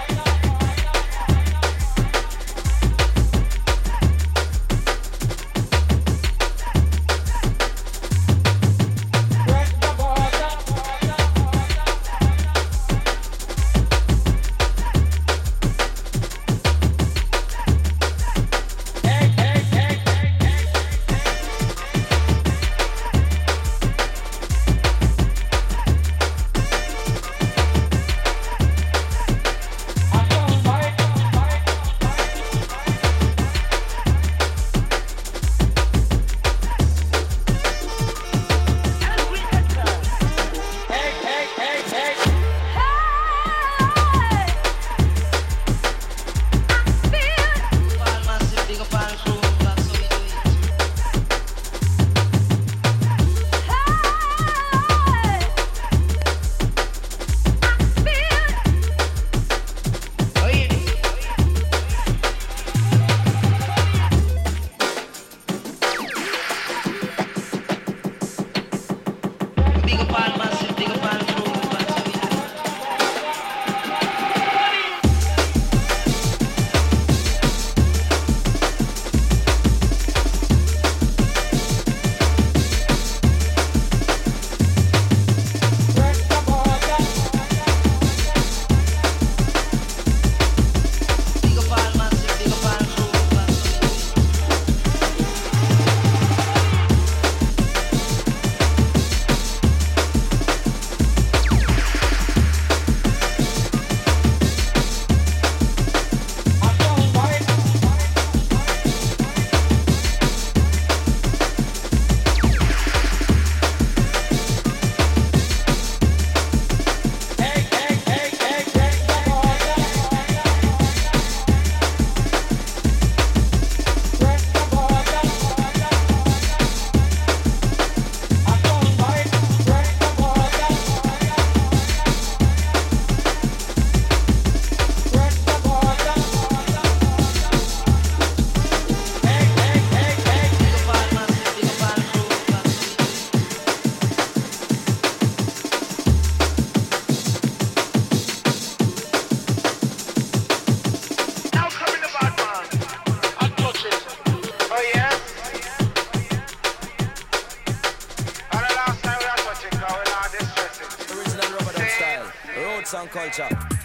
Culture.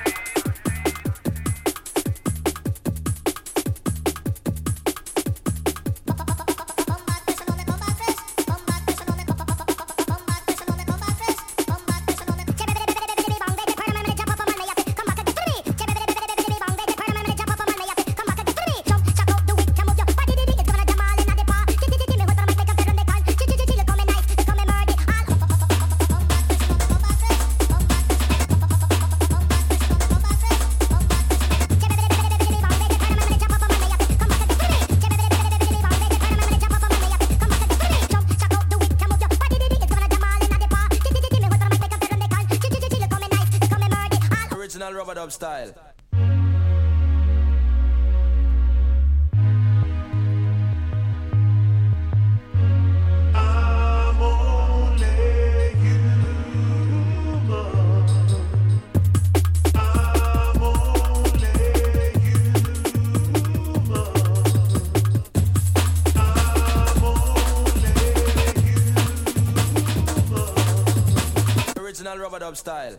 Rubber dub style. I'm only human. I'm only human. I'm only human. Original rubber dub style.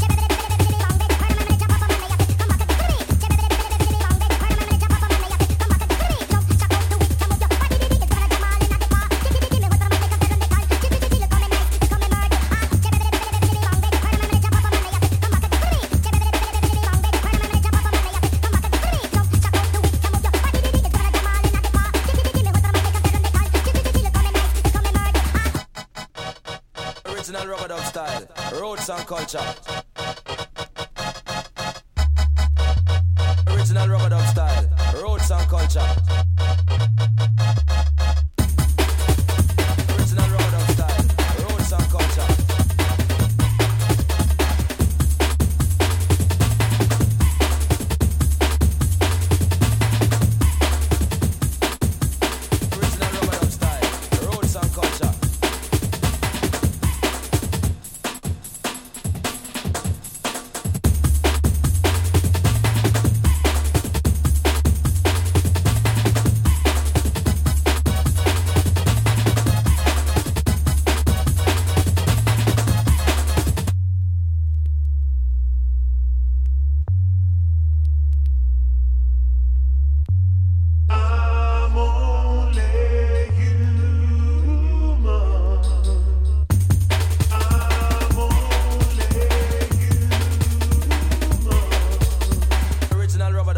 Original rubber dub style. Roots and culture. Original rubber dub style. Roots and culture. Original rubber dub style. Roots and culture. Original rubber dub style. Roots and culture.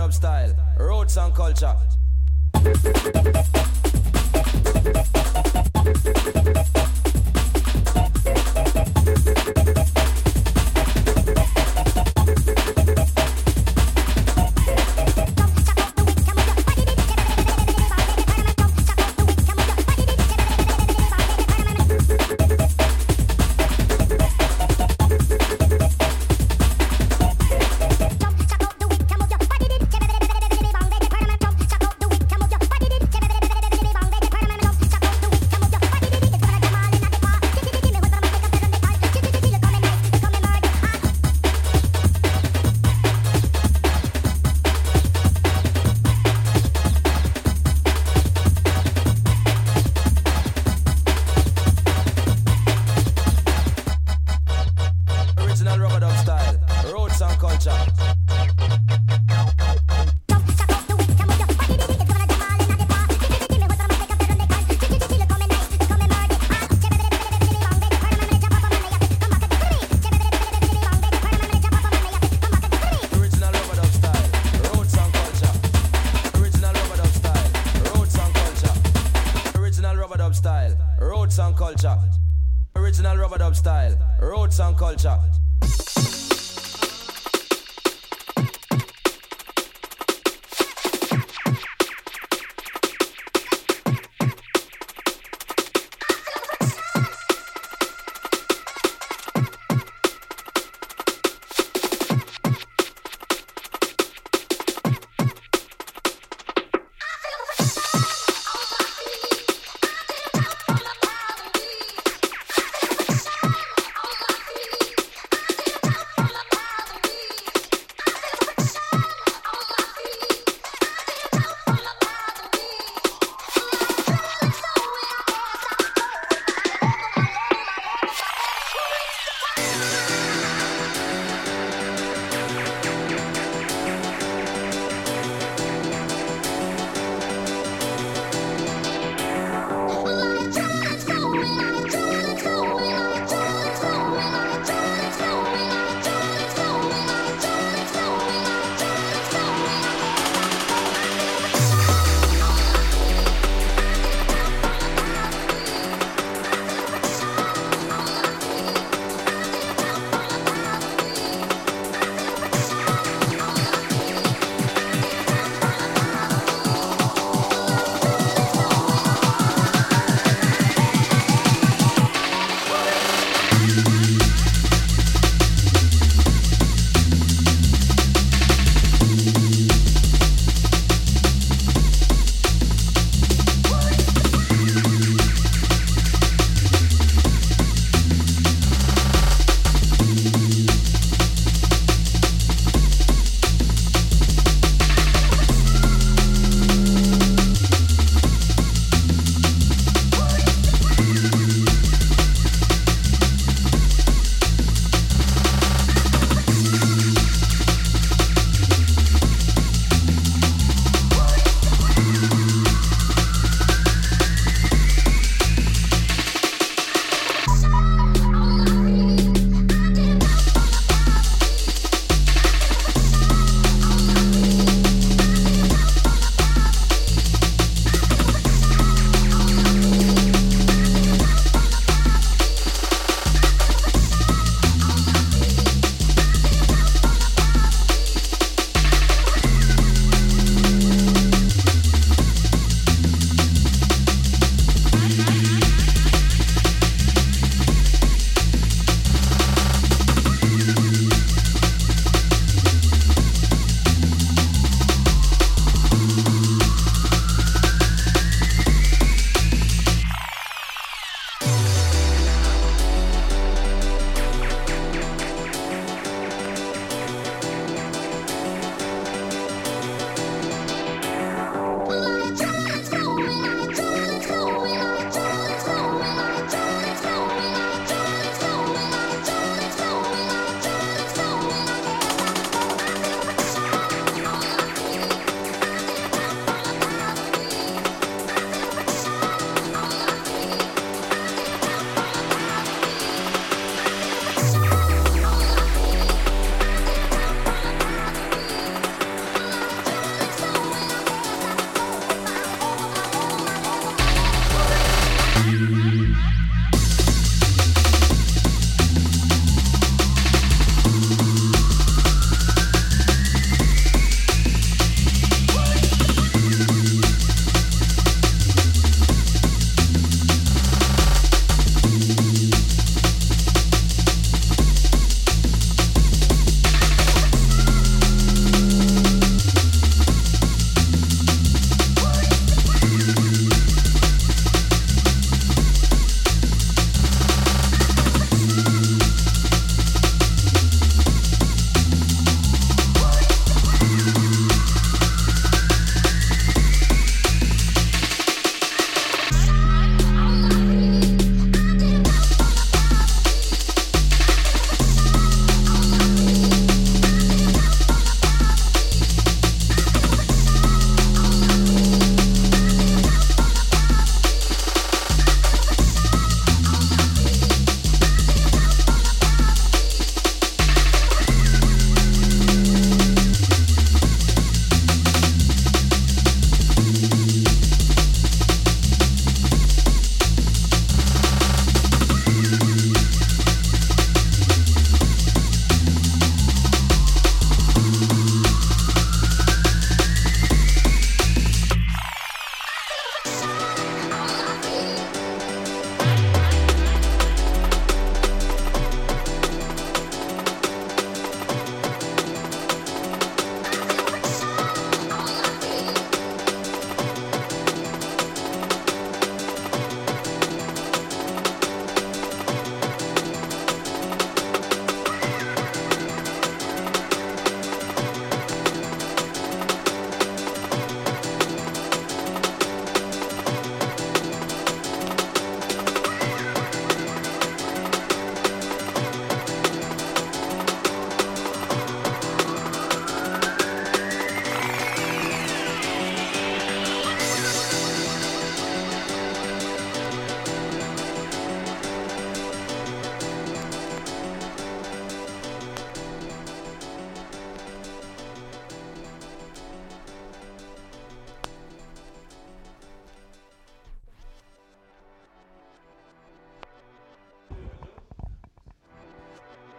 rub-a-dub style, roots and culture. Original rub-a-dub style, roots and culture.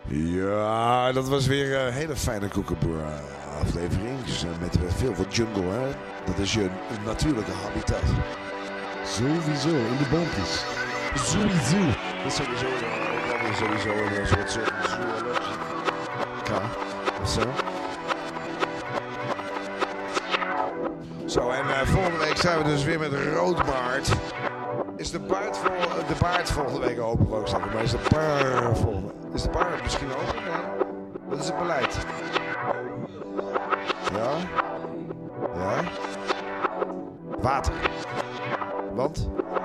Ja, dat was weer een hele fijne Kookaburra aflevering. Dus, met veel van jungle, hè. Dat is je natuurlijke habitat. Sowieso, in de boompjes. Sowieso. Dat is sowieso een soort ja, of zo. Zo, en volgende week zijn we dus weer met Roodbaard. Is de baard volgende week open, wou ik zeggen. Maar is de baard volgende? Is de baard misschien open? Nee. Wat is het beleid? Ja? Ja? Water. Want?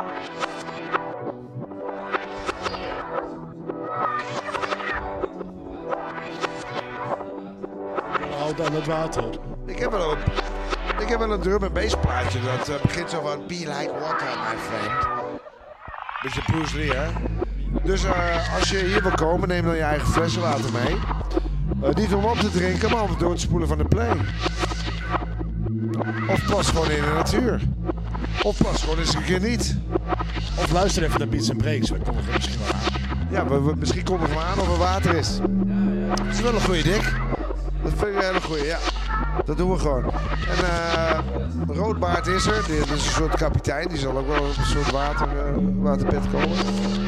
Houd aan het water. Ik heb wel een drum en bass plaatje. Dat begint zo van Be like water, my friend. Beetje Bruce Lee, hè? Dus als je hier wil komen, neem dan je eigen flessen water mee. Niet om op te drinken, maar om het door te spoelen van de play. Of pas gewoon in de natuur. Of pas gewoon eens een keer niet. Of luister even naar Beats and Breaks. We kondigen misschien wel aan. Ja, misschien kondigen we aan of er water is. Dat is wel een goeie, Dick. Dat vind ik een hele goeie, ja. Dat doen we gewoon. En Roodbaard is er. Dit is een soort kapitein. Die zal ook wel op een soort waterbed komen.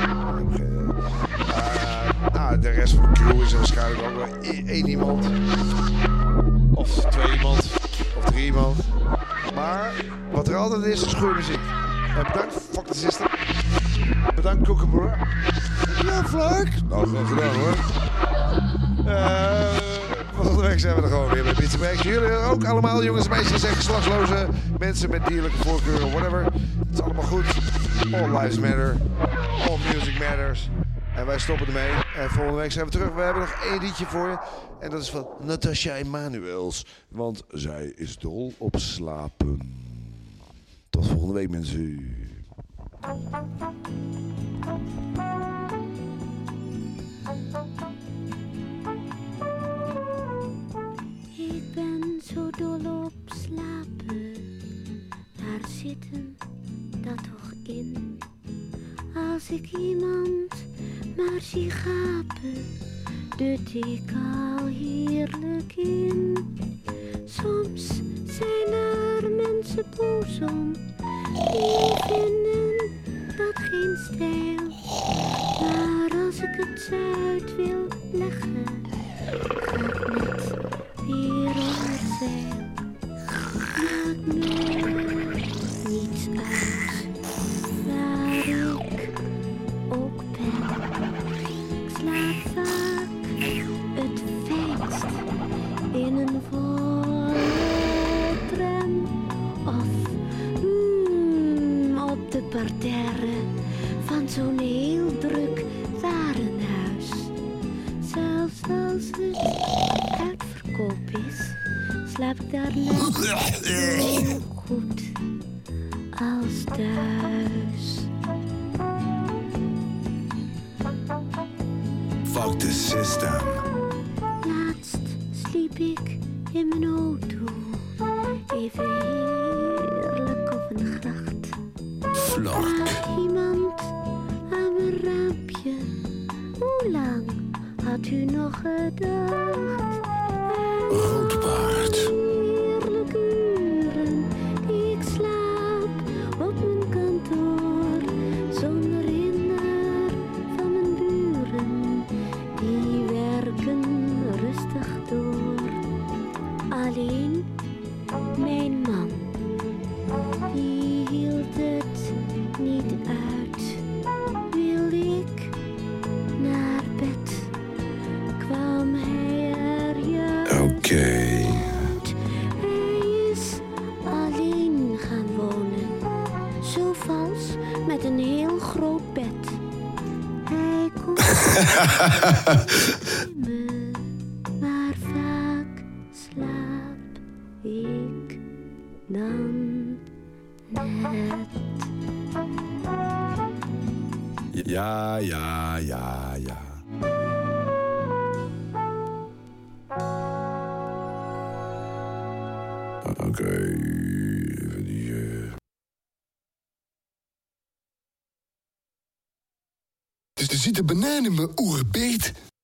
De rest van de crew is er waarschijnlijk ook wel één iemand. Of 2 iemand. Of 3 iemand. Maar wat er altijd is goede muziek. Bedankt, fuck the system. Bedankt, Kookaburra. Ja, Flark. Nou, gewoon gedaan hoor. Volgende week zijn we er gewoon weer bij Beats and Breaks. Jullie ook allemaal, jongens en meisjes en geslachtsloze mensen met dierlijke voorkeuren, whatever. Het is allemaal goed. All lives matter. All music matters. En wij stoppen ermee. En volgende week zijn we terug. We hebben nog 1 liedje voor je. En dat is van Natasha Emanuels. Want zij is dol op slapen. Tot volgende week, mensen. Ik ben zo dol op slapen. Waar zit hem dat toch in? Als ik iemand maar zie gapen, dut ik al heerlijk in. Soms zijn er mensen boos om, die vinden dat geen stijl. Maar als ik het uit wil leggen, ga ik net weer onder zeil. Maakt me niets uit waar ik ook ben. Ik slaap vaak het fijnst in een volle tram of op de parterre van zo'n heel druk warenhuis. Zelfs als het uitverkoop is, slaap ik daar net zo goed als thuis. Fuck the system. Laatst sliep ik in mijn auto, even heerlijk op een gracht. Flark. Iemand aan mijn raampje, hoe lang had u nog gedacht? Roodbaard. Heerlijke uren die ik slaap op mijn kantoor, zonder hinder van mijn buren, die werken rustig door. Alleen mijn man, die hield het niet uit. Wilde ik naar bed, kwam hij er juist. Oké. Hij is alleen gaan wonen, zo vals, met een heel groot bed. Hij komt me, maar vaak slaap ik dan net. Ja. Oké, even die... Dus er zit een banaan in mijn oerbeet.